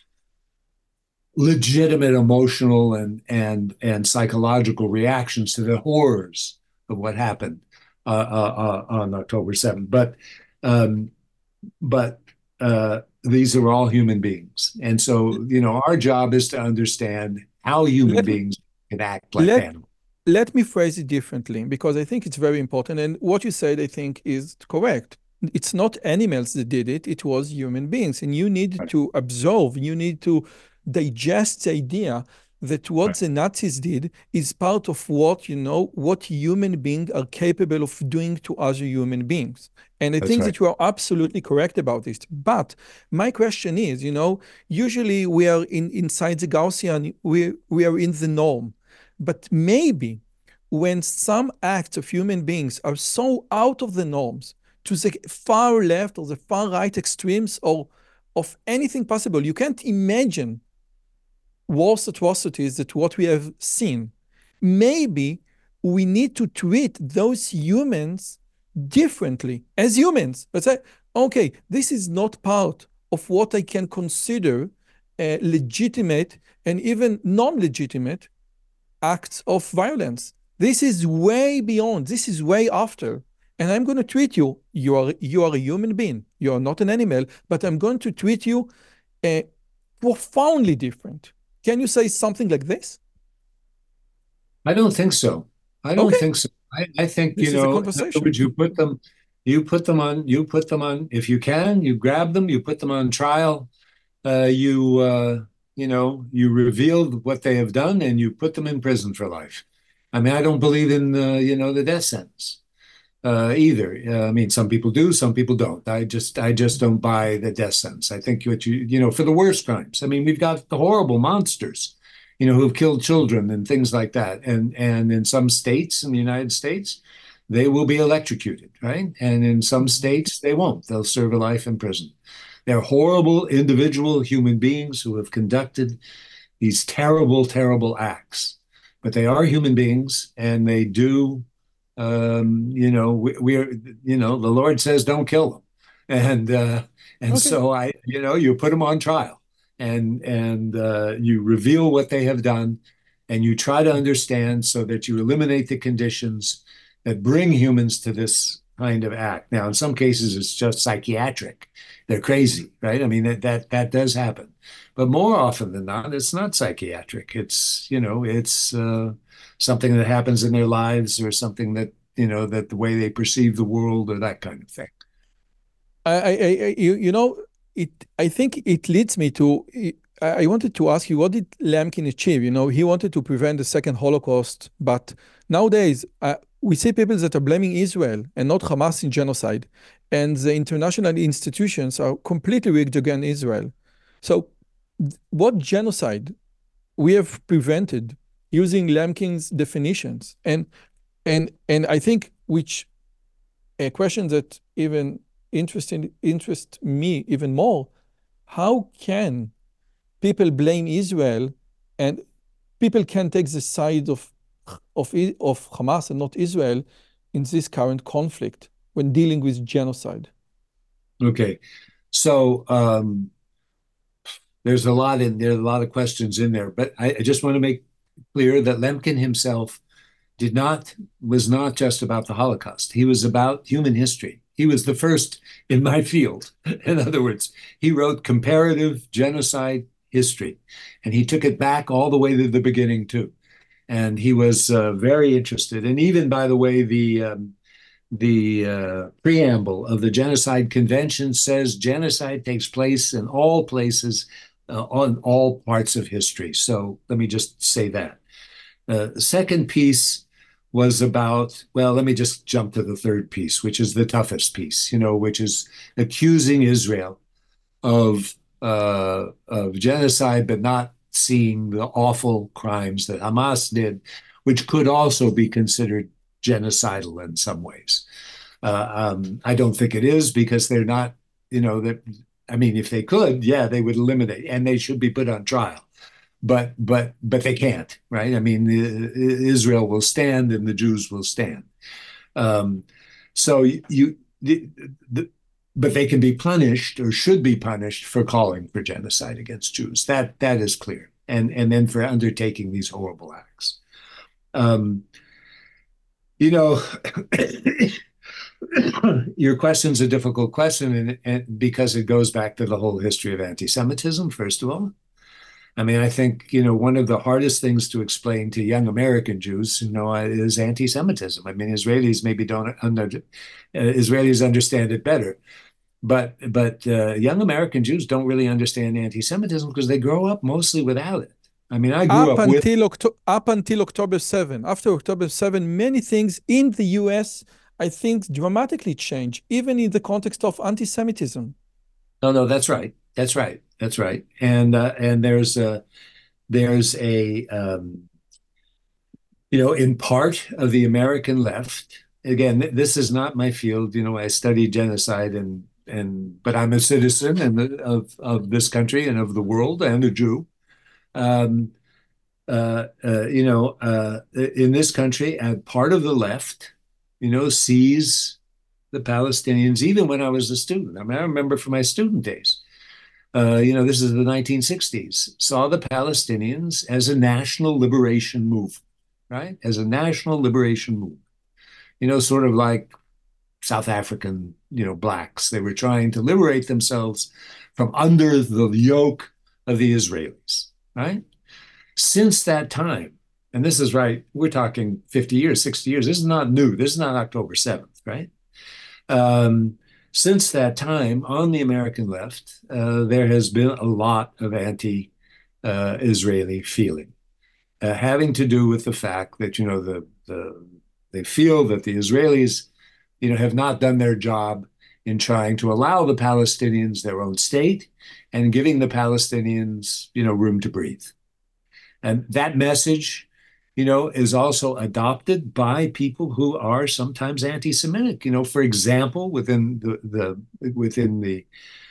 legitimate emotional and and and psychological reactions to the horrors of what happened uh, uh, uh, on October seventh. But um, but uh, these are all human beings, and so you know our job is to understand how human Let me beings can act like let animals. let me phrase it differently because I think it's very important. And what you said, I think, is correct. It's not animals that did it, it was human beings. And you need Right. to absorb, you need to digest the idea that what Right. the Nazis did is part of what, you know, what human beings are capable of doing to other human beings. And I That's think right. that you are absolutely correct about this. But my question is, you know, usually we are in inside the Gaussian, we, we are in the norm. But maybe when some acts of human beings are so out of the norms to the far left or the far right extremes or of anything possible, you can't imagine worse atrocities that what we have seen. Maybe we need to treat those humans differently as humans. Let's say, okay, this is not part of what I can consider uh, legitimate and even non-legitimate acts of violence. This is way beyond, this is way after. And I'm going to treat you, you are, you are a human being, you are not an animal, but I'm going to treat you uh, profoundly different. Can you say something like this? I don't think so. I don't Okay, think so. I, I think, you this is a know, in other conversation. words, you put them, you put them on, you put them on, if you can, you grab them, you put them on trial, uh, you, uh, you know, you reveal what they have done and you put them in prison for life. I mean, I don't believe in, uh, you know, the death sentence uh, either. Uh, I mean, some people do, some people don't. I just, I just don't buy the death sentence. I think what you, you know, for the worst crimes. I mean, we've got the horrible monsters, you know, who've killed children and things like that. And and in some states in the United States, they will be electrocuted, right? And in some states, they won't. They'll serve a life in prison. They're horrible individual human beings who have conducted these terrible, terrible acts. But they are human beings, and they do um, you know, we, we're, you know, the Lord says don't kill them, and uh, and Okay. so I, you know, you put them on trial, and and uh, you reveal what they have done, and you try to understand so that you eliminate the conditions that bring humans to this kind of act. Now, in some cases, it's just psychiatric; they're crazy, right? I mean, that that that does happen, but more often than not, it's not psychiatric. It's you know, it's uh, something that happens in their lives or something that, you know, that the way they perceive the world or that kind of thing. I, I, I you, you know, it. I think it leads me to. I, I wanted to ask you, what did Lemkin achieve? You know, he wanted to prevent the second Holocaust, but nowadays uh, we see people that are blaming Israel and not Hamas in genocide, and the international institutions are completely rigged against Israel. So, what genocide we have prevented using Lemkin's definitions, and and and I think which a question that even interesting interest me even more, how can people blame Israel and people can take the side of of of Hamas and not Israel in this current conflict when dealing with genocide? Okay. So um, there's a lot in there, a lot of questions in there, but I, I just want to make clear that Lemkin himself did not was not just about the Holocaust. He was about human history. He was the first in my field. In other words, he wrote comparative genocide history, and he took it back all the way to the beginning too. And he was uh, very interested. And even, by the way, the um, the uh, preamble of the Genocide Convention says genocide takes place in all places, uh, on all parts of history. So let me just say that. Uh, the second piece was about, well, let me just jump to the third piece, which is the toughest piece, you know, which is accusing Israel of uh, of genocide, but not seeing the awful crimes that Hamas did, which could also be considered genocidal in some ways. Uh, um, I don't think it is because they're not, you know, that. I mean, if they could, yeah, they would eliminate, and they should be put on trial. But but but they can't, right? I mean, Israel will stand, and the Jews will stand. Um, so you, the, the, but they can be punished or should be punished for calling for genocide against Jews. That that is clear, and and then for undertaking these horrible acts. Um, you know, your question's a difficult question, and, and because it goes back to the whole history of anti-Semitism, first of all. I mean, I think, you know, one of the hardest things to explain to young American Jews, you know, is anti-Semitism. I mean, Israelis maybe don't under, uh, Israelis understand it better, but but uh, young American Jews don't really understand anti-Semitism because they grow up mostly without it. I mean, I grew Up up with. until Octo- up until October seventh. After October seventh, many things in the U S, I think, dramatically changed, even in the context of anti-Semitism. No, no, that's right. That's right. That's right. And uh, and there's a there's a um, you know, in part of the American left. Again, th- this is not my field. You know, I study genocide and and but I'm a citizen and of of this country and of the world and a Jew. Um, uh, uh, you know, uh, in this country, uh, part of the left, you know, sees the Palestinians. Even when I was a student, I mean, I remember from my student days. Uh, you know, this is the nineteen sixties, saw the Palestinians as a national liberation movement, right? As a national liberation movement, you know, sort of like South African, you know, blacks. They were trying to liberate themselves from under the yoke of the Israelis, right? Since that time, and this is right, we're talking fifty years, sixty years. This is not new. This is not October seventh, right? Um, since that time, on the American left, uh, there has been a lot of anti uh, Israeli feeling, uh, having to do with the fact that, you know, the, the they feel that the Israelis, you know, have not done their job in trying to allow the Palestinians their own state and giving the Palestinians, you know, room to breathe. And that message, you know, is also adopted by people who are sometimes anti-Semitic. You know, for example, within the, the within the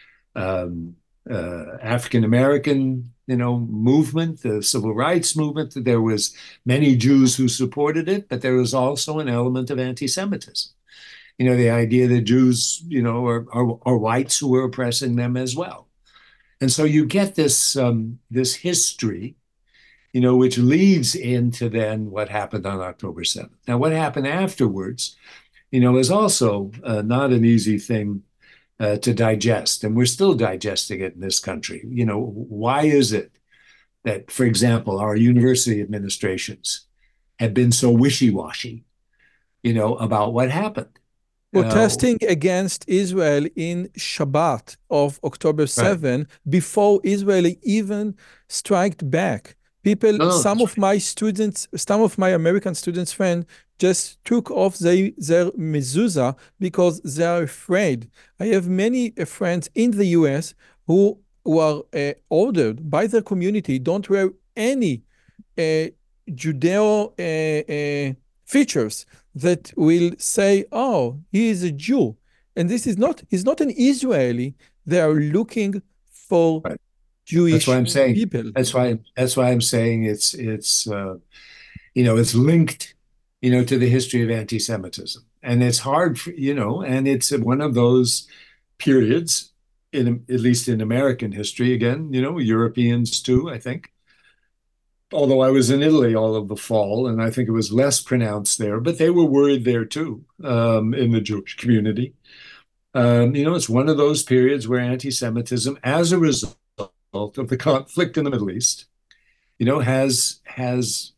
um, uh, African American, you know, movement, the civil rights movement, there was many Jews who supported it, but there was also an element of anti-Semitism. You know, the idea that Jews, you know, are, are, are whites who were oppressing them as well. And so you get this um, this history, you know, which leads into then what happened on October seventh. Now, what happened afterwards, you know, is also uh, not an easy thing uh, to digest. And we're still digesting it in this country. You know, why is it that, for example, our university administrations have been so wishy-washy, you know, about what happened? Uh, Protesting against Israel in Shabbat of October right. seventh before Israel even struck back. People, No, no, some that's of right. my students, some of my American students' friends just took off they, their mezuzah because they are afraid. I have many uh, friends in the U S who were uh, ordered by their community, don't wear any uh, Judeo uh, uh, features that will say, oh, he is a Jew. And this is not, he's not an Israeli. They are looking for Right. That's why Jewish I'm saying. people. That's why. That's why I'm saying it's it's uh, you know, it's linked, you know, to the history of anti-Semitism, and it's hard for, you know, and it's one of those periods in at least in American history. Again, you know, Europeans too, I think. Although I was in Italy all of the fall, and I think it was less pronounced there, but they were worried there too, um, in the Jewish community. Um, you know, it's one of those periods where anti-Semitism, as a result of the conflict in the Middle East, you know, has has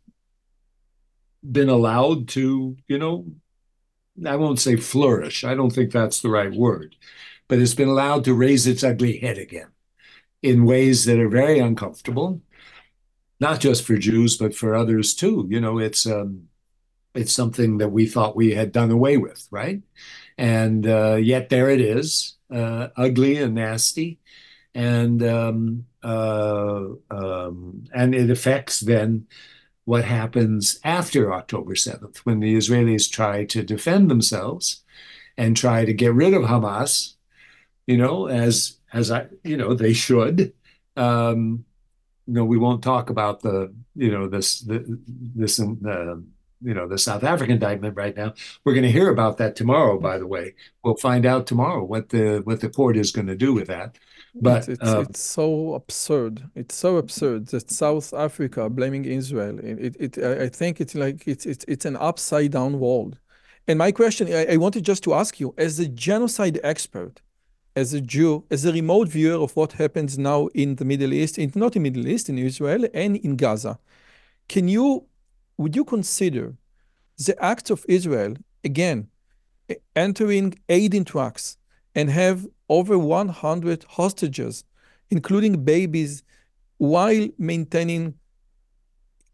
been allowed to, you know, I won't say flourish. I don't think that's the right word, but it's been allowed to raise its ugly head again in ways that are very uncomfortable, not just for Jews, but for others too. You know, it's um, it's something that we thought we had done away with, right? And uh, yet there it is, uh, ugly and nasty, and um, uh, um, and it affects then what happens after October seventh when the Israelis try to defend themselves and try to get rid of Hamas, you know, as as I, you know, they should. Um, you know, we won't talk about the, you know, this the, this uh, you know, the South African indictment right now. We're going to hear about that tomorrow. By the way, we'll find out tomorrow what the what the court is going to do with that. It's But it's um, it's so absurd. It's so absurd that South Africa blaming Israel. It it, it I think it's like it's it's it's an upside down world. And my question, I, I wanted just to ask you, as a genocide expert, as a Jew, as a remote viewer of what happens now in the Middle East, in, not in Middle East, in Israel and in Gaza, can you, would you consider the acts of Israel, again, e- entering aid in trucks and have over one hundred hostages, including babies, while maintaining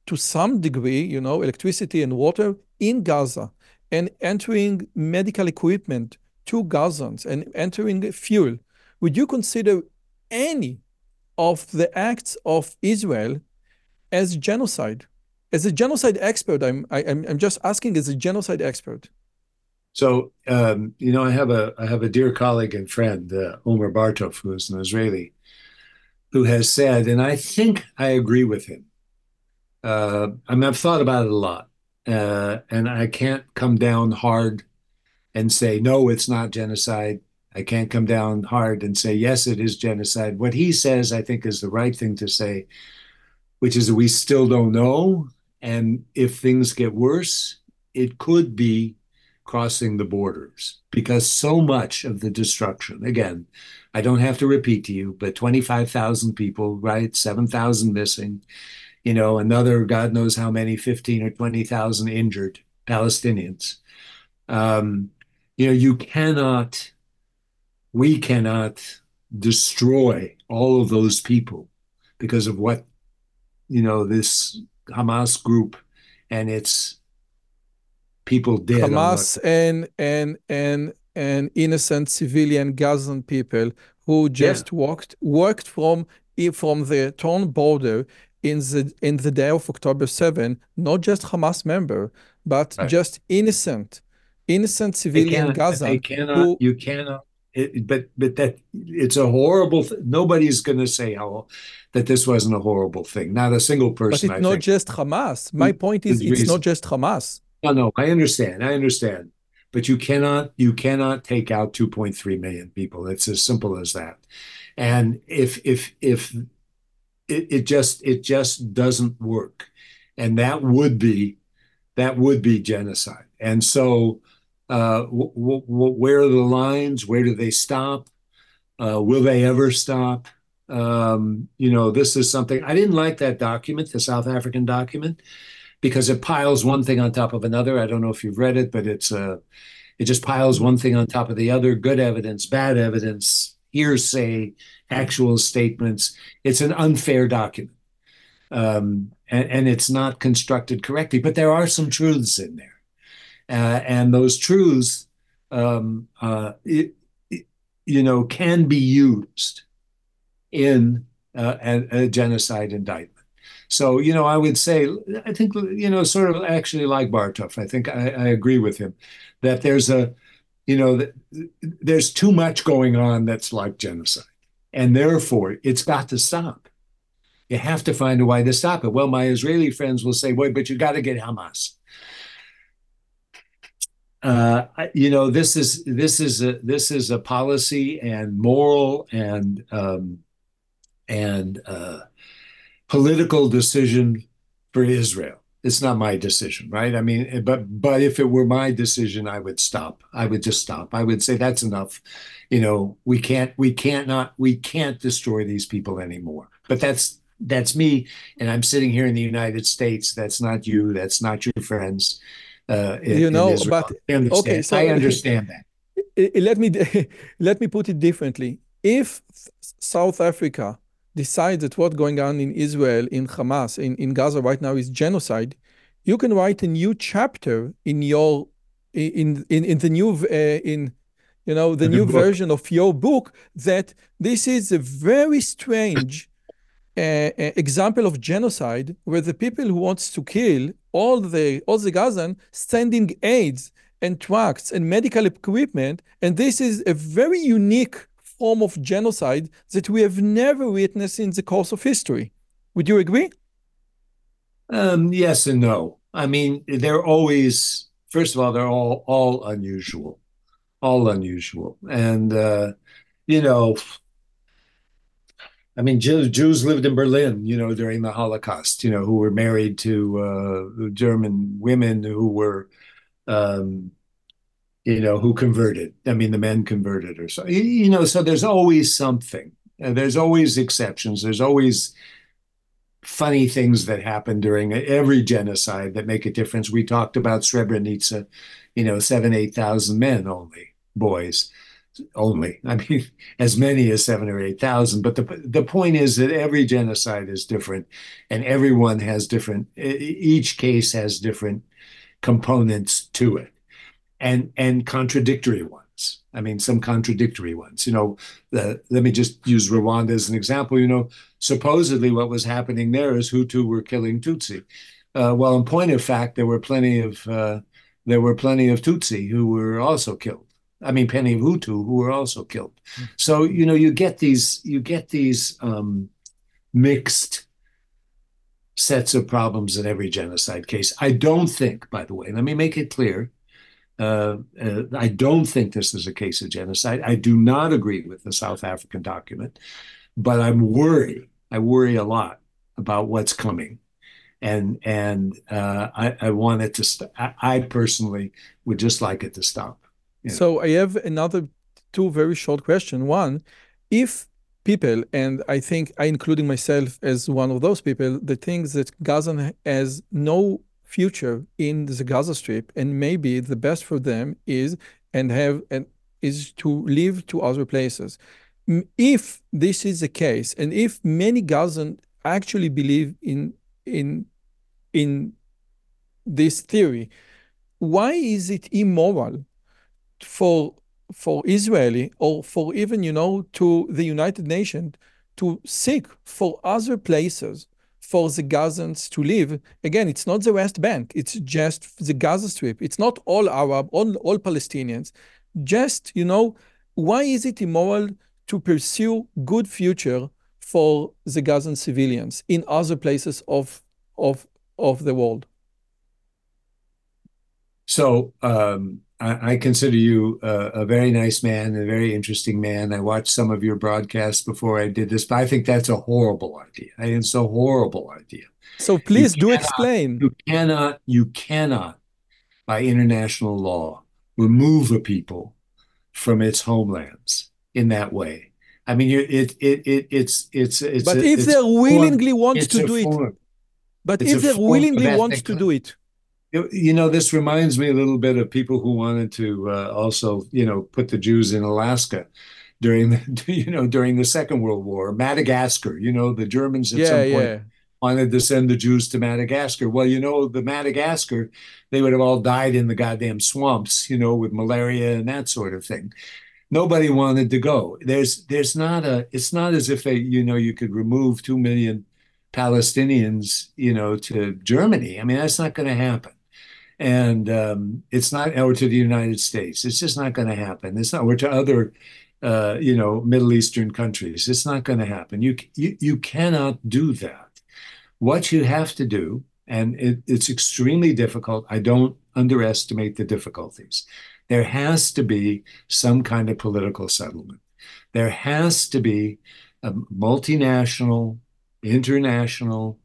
to some degree, you know, electricity and water in Gaza and entering medical equipment to Gazans and entering fuel, would you consider any of the acts of Israel as genocide? As a genocide expert, I'm I, I'm I'm just asking as a genocide expert. So, um, you know, I have a I have a dear colleague and friend, uh, Omer Bartov, who is an Israeli, who has said, and I think I agree with him. Uh, I mean, I've thought about it a lot, uh, and I can't come down hard and say no, it's not genocide. I can't come down hard and say yes, it is genocide. What he says, I think, is the right thing to say, which is that we still don't know, and if things get worse, it could be crossing the borders because so much of the destruction, again, I don't have to repeat to you, but twenty-five thousand people, right? seven thousand missing, you know, another God knows how many, fifteen or twenty thousand injured Palestinians. Um, you know, you cannot, we cannot destroy all of those people because of what, you know, this Hamas group and its people did on Hamas the and and and and innocent civilian Gazan people who yeah, just walked worked from from the torn border in the in the day of October seventh, not just Hamas member, but right. just innocent, innocent They civilian can't, they Gazan cannot, who, you cannot, it, but, but that it's a horrible, th- nobody's going to say how, that this wasn't a horrible thing. Not a single but person, it's I not think, just Hamas. My point is, is it's not reason. just Hamas. No, no, I understand. I understand. But you cannot, you cannot take out two point three million people. It's as simple as that. And if, if, if it, it just, it just doesn't work. And that would be, that would be genocide. And so, uh, w- w- where are the lines? Where do they stop? Uh, will they ever stop? Um, you know, this is something I didn't like that document, the South African document, because it piles one thing on top of another. I don't know if you've read it, but it's uh, it just piles one thing on top of the other. Good evidence, bad evidence, hearsay, actual statements. It's an unfair document, um, and, and it's not constructed correctly. But there are some truths in there. Uh, and those truths, um, uh, it, it, you know, can be used in uh, a, a genocide indictment. So, you know, I would say, I think, you know, sort of actually like Bartov, I think I, I agree with him that there's a, you know, there's too much going on that's like genocide. And therefore, it's got to stop. You have to find a way to stop it. Well, my Israeli friends will say, wait, but you got to get Hamas. Uh, you know, this is this is a this is a policy and moral and um, and uh, political decision for Israel. It's not my decision, right? I mean, but but if it were my decision, I would stop. I would just stop. I would say that's enough. You know, we can't we can't not we can't destroy these people anymore. But that's that's me, and I'm sitting here in the United States. That's not you. That's not your friends uh, in, You in know, but Israel. I okay, understand. I so understand that. let me let me put it differently. If South Africa decides that what's going on in Israel, in Hamas, in, in Gaza right now is genocide, you can write a new chapter in your in in in the new uh, in you know the The new book. version of your book that this is a very strange uh, example of genocide where the people who wants to kill all the all the Gazan sending aids and trucks and medical equipment, and this is a very unique form of genocide that we have never witnessed in the course of history. Would you agree? Um, yes and no. I mean, they're always, first of all, they're all all unusual, all unusual. And uh, you know, I mean, Jews, Jews lived in Berlin, you know, during the Holocaust, you know, who were married to uh, German women who were, um, you know, who converted. I mean, the men converted or so. You, you know, so there's always something. Uh, there's always exceptions. There's always funny things that happen during every genocide that make a difference. We talked about Srebrenica, you know, seven, eight thousand men only, boys. only. I mean, as many as seven or eight thousand. But the the point is that every genocide is different, and everyone has different. Each case has different components to it, and and contradictory ones. I mean, some contradictory ones. You know, the, let me just use Rwanda as an example. You know, supposedly what was happening there is Hutu were killing Tutsi. Uh, well, in point of fact, there were plenty of uh, there were plenty of Tutsi who were also killed. I mean, plenty of Hutu who were also killed. Mm. So you know, you get these you get these um, mixed sets of problems in every genocide case. I don't think, by the way, let me make it clear. Uh, uh, I don't think this is a case of genocide. I do not agree with the South African document, but I'm worried. I worry a lot about what's coming. And and uh, I, I want it to stop. I, I personally would just like it to stop. You know? So I have another two very short questions. One, if people, and I think I including myself as one of those people, that thinks that Gaza has no future in the Gaza Strip, and maybe the best for them is and have and is to live to other places. If this is the case, and if many Gazans actually believe in in in this theory, why is it immoral for for Israeli or for even, you know, to the United Nations to seek for other places for the Gazans to live? Again, it's not the West Bank, it's just the Gaza Strip. It's not all Arab, all, all Palestinians. Just, you know, why is it immoral to pursue good future for the Gazan civilians in other places of, of, of the world? So um, I, I consider you a, a very nice man, a very interesting man. I watched some of your broadcasts before I did this, but I think that's a horrible idea. I think it's a horrible idea. So please you do cannot, explain. You cannot, you cannot, by international law, remove a people from its homelands in that way. I mean, you, it, it, it, it's, it's, it's. But a, if it's they willingly want to do form. it, but it's if they willingly want to do it. You know, this reminds me a little bit of people who wanted to uh, also, you know, put the Jews in Alaska during the, you know, during the Second World War. Madagascar, you know, the Germans at yeah, some point yeah. wanted to send the Jews to Madagascar. Well, you know, the Madagascar, they would have all died in the goddamn swamps, you know, with malaria and that sort of thing. Nobody wanted to go. There's, there's not a, it's not as if they, you know, you could remove two million Palestinians, you know, to Germany. I mean, that's not going to happen. And um, it's not, or to the United States. It's just not going to happen. It's not, or to other, uh, you know, Middle Eastern countries. It's not going to happen. You, you, you cannot do that. What you have to do, and it, it's extremely difficult. I don't underestimate the difficulties. There has to be some kind of political settlement. There has to be a multinational, international.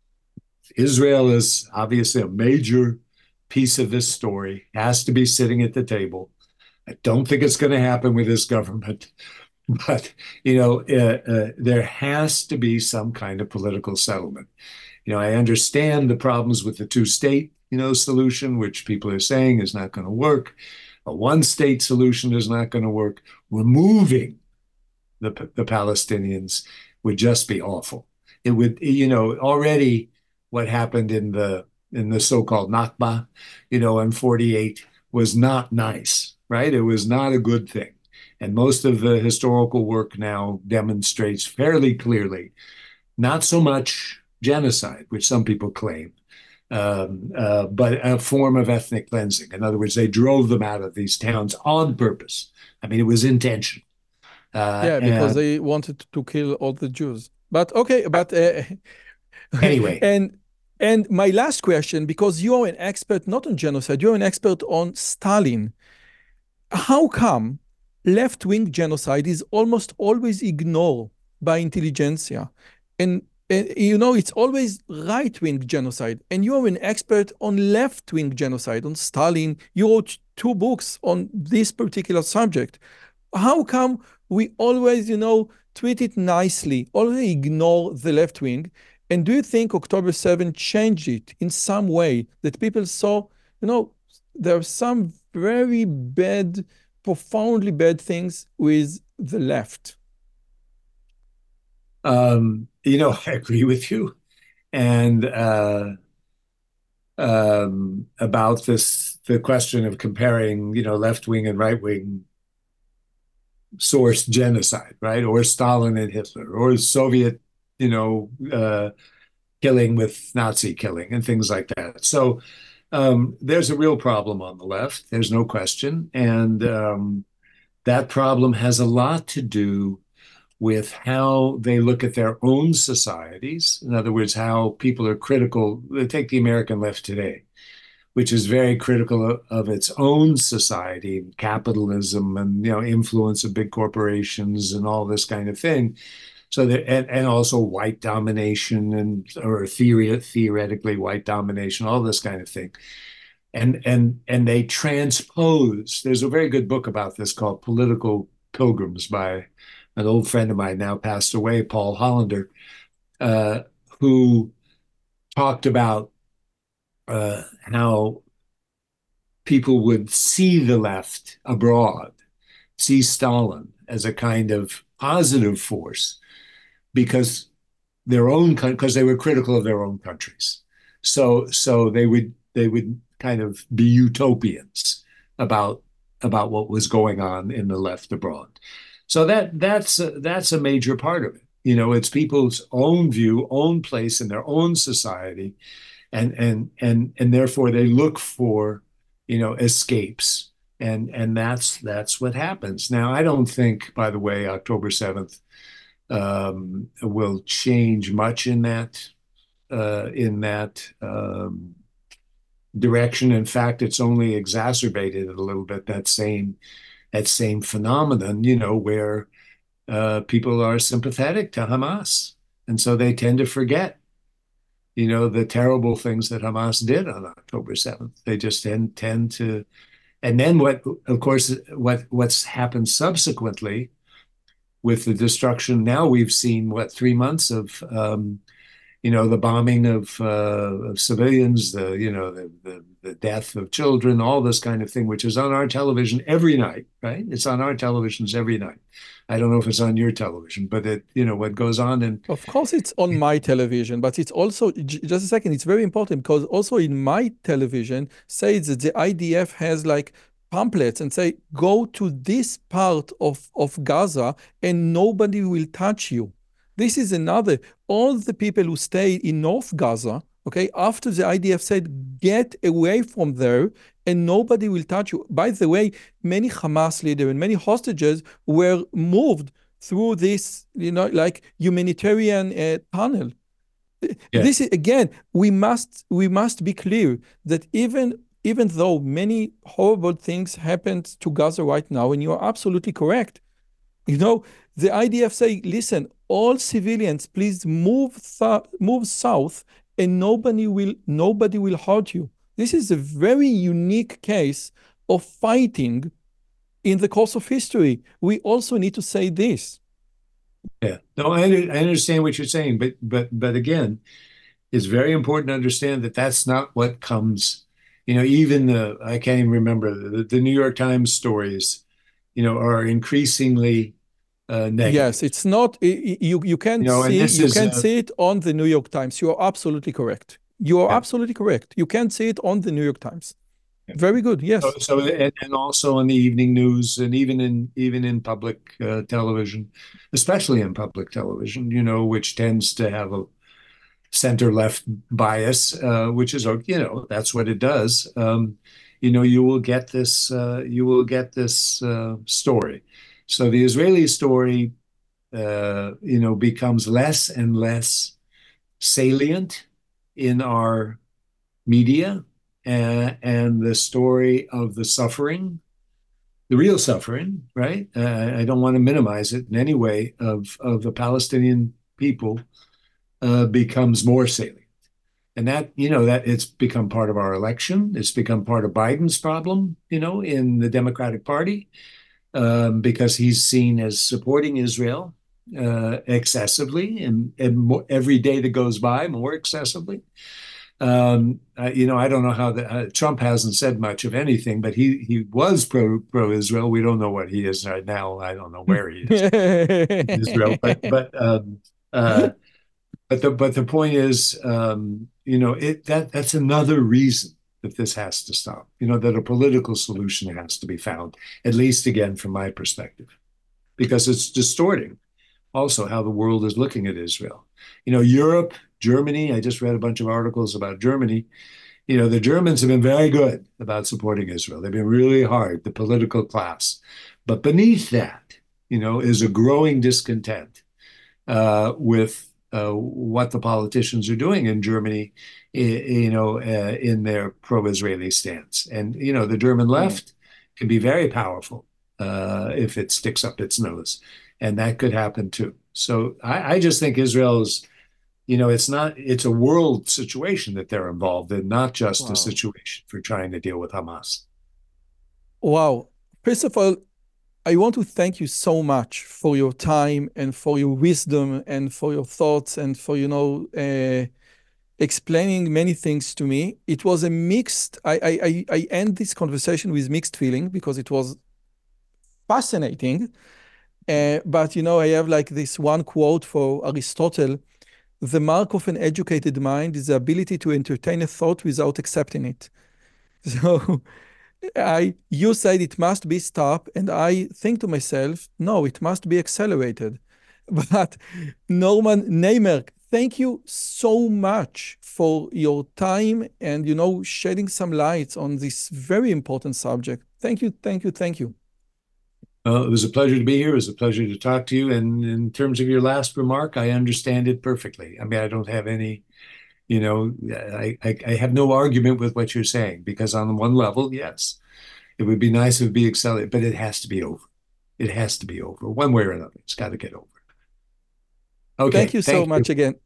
Israel is obviously a major piece of this story, has to be sitting at the table. I don't think it's going to happen with this government, but you know, uh, uh, there has to be some kind of political settlement. You know, I understand the problems with the two-state, you know, solution, which people are saying is not going to work. A one-state solution is not going to work. Removing the the Palestinians would just be awful. It would, you know, already what happened in the in the so-called Nakba, you know, in forty-eight was not nice, right? It was not a good thing. And most of the historical work now demonstrates fairly clearly, not so much genocide, which some people claim, um, uh, but a form of ethnic cleansing. In other words, they drove them out of these towns on purpose. I mean, it was intentional. Uh, yeah, because and, they wanted to kill all the Jews. But okay, but uh, anyway. and And my last question, because you're an expert not on genocide, you're an expert on Stalin. How come left-wing genocide is almost always ignored by intelligentsia? And, and you know, it's always right-wing genocide. And you're an expert on left-wing genocide, on Stalin. You wrote two books on this particular subject. How come we always, you know, treat it nicely, always ignore the left-wing? And do you think October seventh changed it in some way that people saw, you know, there are some very bad profoundly bad things with the left. Um, you know, I agree with you. And uh, um, about this, the question of comparing, you know, left wing and right wing source genocide, right? Or Stalin and Hitler, or Soviet, you know, uh, killing with Nazi killing and things like that. So um, there's a real problem on the left. There's no question. And um, that problem has a lot to do with how they look at their own societies. In other words, how people are critical. Take the American left today, which is very critical of, of its own society, capitalism, and you know influence of big corporations and all this kind of thing. So that and, and also white domination and or theory theoretically white domination, all this kind of thing. And and and they transpose. There's a very good book about this called Political Pilgrims by an old friend of mine now passed away, Paul Hollander, uh, who talked about uh, how people would see the left abroad, see Stalin as a kind of positive force because their own because they were critical of their own countries. So so they would they would kind of be utopians about about what was going on in the left abroad. So that that's a, that's a major part of it. You know, it's people's own view, own place in their own society, and and and and therefore they look for, you know, escapes, and and that's that's what happens. Now, I don't think, by the way, October seventh um, will change much in that uh, in that um, direction. In fact, it's only exacerbated it a little bit. That same that same phenomenon, you know, where uh, people are sympathetic to Hamas, and so they tend to forget, you know, the terrible things that Hamas did on October seventh. They just tend tend to, and then what? Of course, what what's happened subsequently with the destruction. Now we've seen what three months of um, you know, the bombing of, uh, of civilians, the, you know, the, the, the death of children, all this kind of thing, which is on our television every night, right? It's on our televisions every night. I don't know if it's on your television, but it, you know, what goes on in. Of course, it's on my television, but it's also, just a second, it's very important because also in my television says that the I D F has like pamphlets and say, go to this part of, of Gaza and nobody will touch you. This is another, all the people who stay in North Gaza, okay, after the I D F said, get away from there and nobody will touch you. By the way, many Hamas leaders and many hostages were moved through this, you know, like humanitarian uh, tunnel. Yeah. This is, again, we must, we must be clear that even, even though many horrible things happened to Gaza right now, and you are absolutely correct, you know, the I D F say, listen, all civilians, please move th- move south, and nobody will nobody will hurt you. This is a very unique case of fighting in the course of history. We also need to say this. Yeah, no, I, I understand what you're saying, but but but again, it's very important to understand that that's not what comes. You know, even the I can't even remember the, the New York Times stories, you know, are increasingly uh, negative. Yes, it's not you. You can't You know, and see this you is can't uh, see it on the New York Times. You are absolutely correct. You are yeah, absolutely correct. You can't see it on the New York Times. yeah. Very good. So, Yes. so and, and also in the evening news, and even in even in public uh, television, especially in public television, you know, which tends to have a center left bias, uh, which is, you know, that's what it does. Um, you know, you will get this, uh, you will get this uh, story. So the Israeli story, uh, you know, becomes less and less salient in our media, uh, and the story of the suffering, the real suffering, right? Uh, I don't want to minimize it in any way of of the Palestinian people, uh, becomes more salient. And that, you know, that it's become part of our election. It's become part of Biden's problem, you know, in the Democratic Party, um, because he's seen as supporting Israel uh, excessively, and, and more, every day that goes by, more excessively. Um, uh, you know, I don't know how the, uh, Trump hasn't said much of anything, but he he was pro pro Israel. We don't know what he is right now. I don't know where he is in Israel, but but um, uh, but the but the point is, um, you know, it that that's another reason that this has to stop. You know, that a political solution has to be found, at least again from my perspective, because it's distorting also how the world is looking at Israel. You know, Europe, Germany, I just read a bunch of articles about Germany. You know, the Germans have been very good about supporting Israel. They've been really hard, the political class. But beneath that, you know, is a growing discontent uh, with uh, what the politicians are doing in Germany, you know, uh, in their pro-Israeli stance. And, you know, the German left can be very powerful uh, if it sticks up its nose. And that could happen too. So I, I just think Israel's, you know, it's not, it's a world situation that they're involved in, not just wow. a situation for trying to deal with Hamas. Wow. First of all, I want to thank you so much for your time and for your wisdom and for your thoughts and for, you know, uh, explaining many things to me. It was a mixed, I, I, I end this conversation with mixed feeling because it was fascinating. Uh, but, you know, I have like this one quote for Aristotle: the mark of an educated mind is the ability to entertain a thought without accepting it. So I, you said it must be stopped, and I think to myself, no, it must be accelerated. But Norman Naimark, thank you so much for your time and, you know, shedding some light on this very important subject. Thank you, thank you, thank you. Uh, it was a pleasure to be here. It was a pleasure to talk to you. And in terms of your last remark, I understand it perfectly. I mean, I don't have any, you know, I, I, I have no argument with what you're saying, because on one level, yes, it would be nice if it would be accelerated, but it has to be over. It has to be over one way or another. It's got to get over. Okay. Thank you so thank much you. again.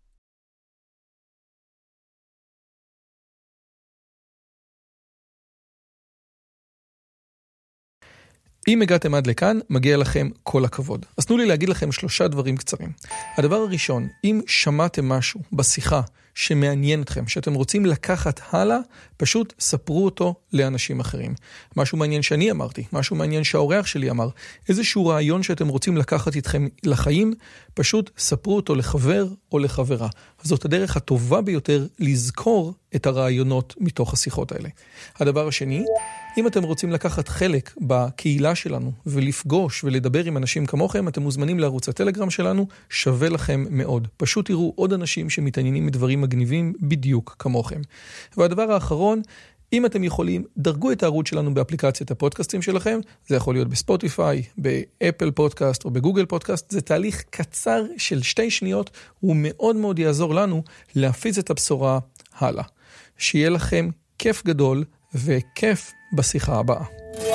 אם הגעתם עד לכאן, מגיע לכם כל הכבוד. אז תנו לי להגיד לכם שלושה דברים קצרים. הדבר הראשון, אם שמעתם משהו בשיחה שמעניין אתכם, שאתם רוצים לקחת הלאה, פשוט ספרו אותו לאנשים אחרים. משהו מעניין שאני אמרתי, משהו מעניין שהאורח שלי אמר, איזשהו רעיון שאתם רוצים לקחת איתכם לחיים, פשוט ספרו אותו לחבר או לחברה. אז זאת הדרך הטובה ביותר לזכור את הרעיונות מתוך השיחות האלה. הדבר השני, אם אתם רוצים לקחת חלק בקהילה שלנו ולפגוש ולדבר עם אנשים כמוכם, אתם מוזמנים לערוץ הטלגרם שלנו, שווה לכם מאוד. פשוט תראו עוד אנשים שמתעניינים מדברים מגניבים בדיוק כמוכם. והדבר האחרון, אם אתם יכולים, דרגו את הערוץ שלנו באפליקציית הפודקאסטים שלכם, זה יכול להיות בספוטיפיי, באפל פודקאסט או בגוגל פודקאסט, זה תהליך קצר של שתי שניות, הוא מאוד מאוד יעזור לנו להפיץ את הבשורה הלאה. שיהיה לכם כיף גדול וכיף בשיחה הבאה.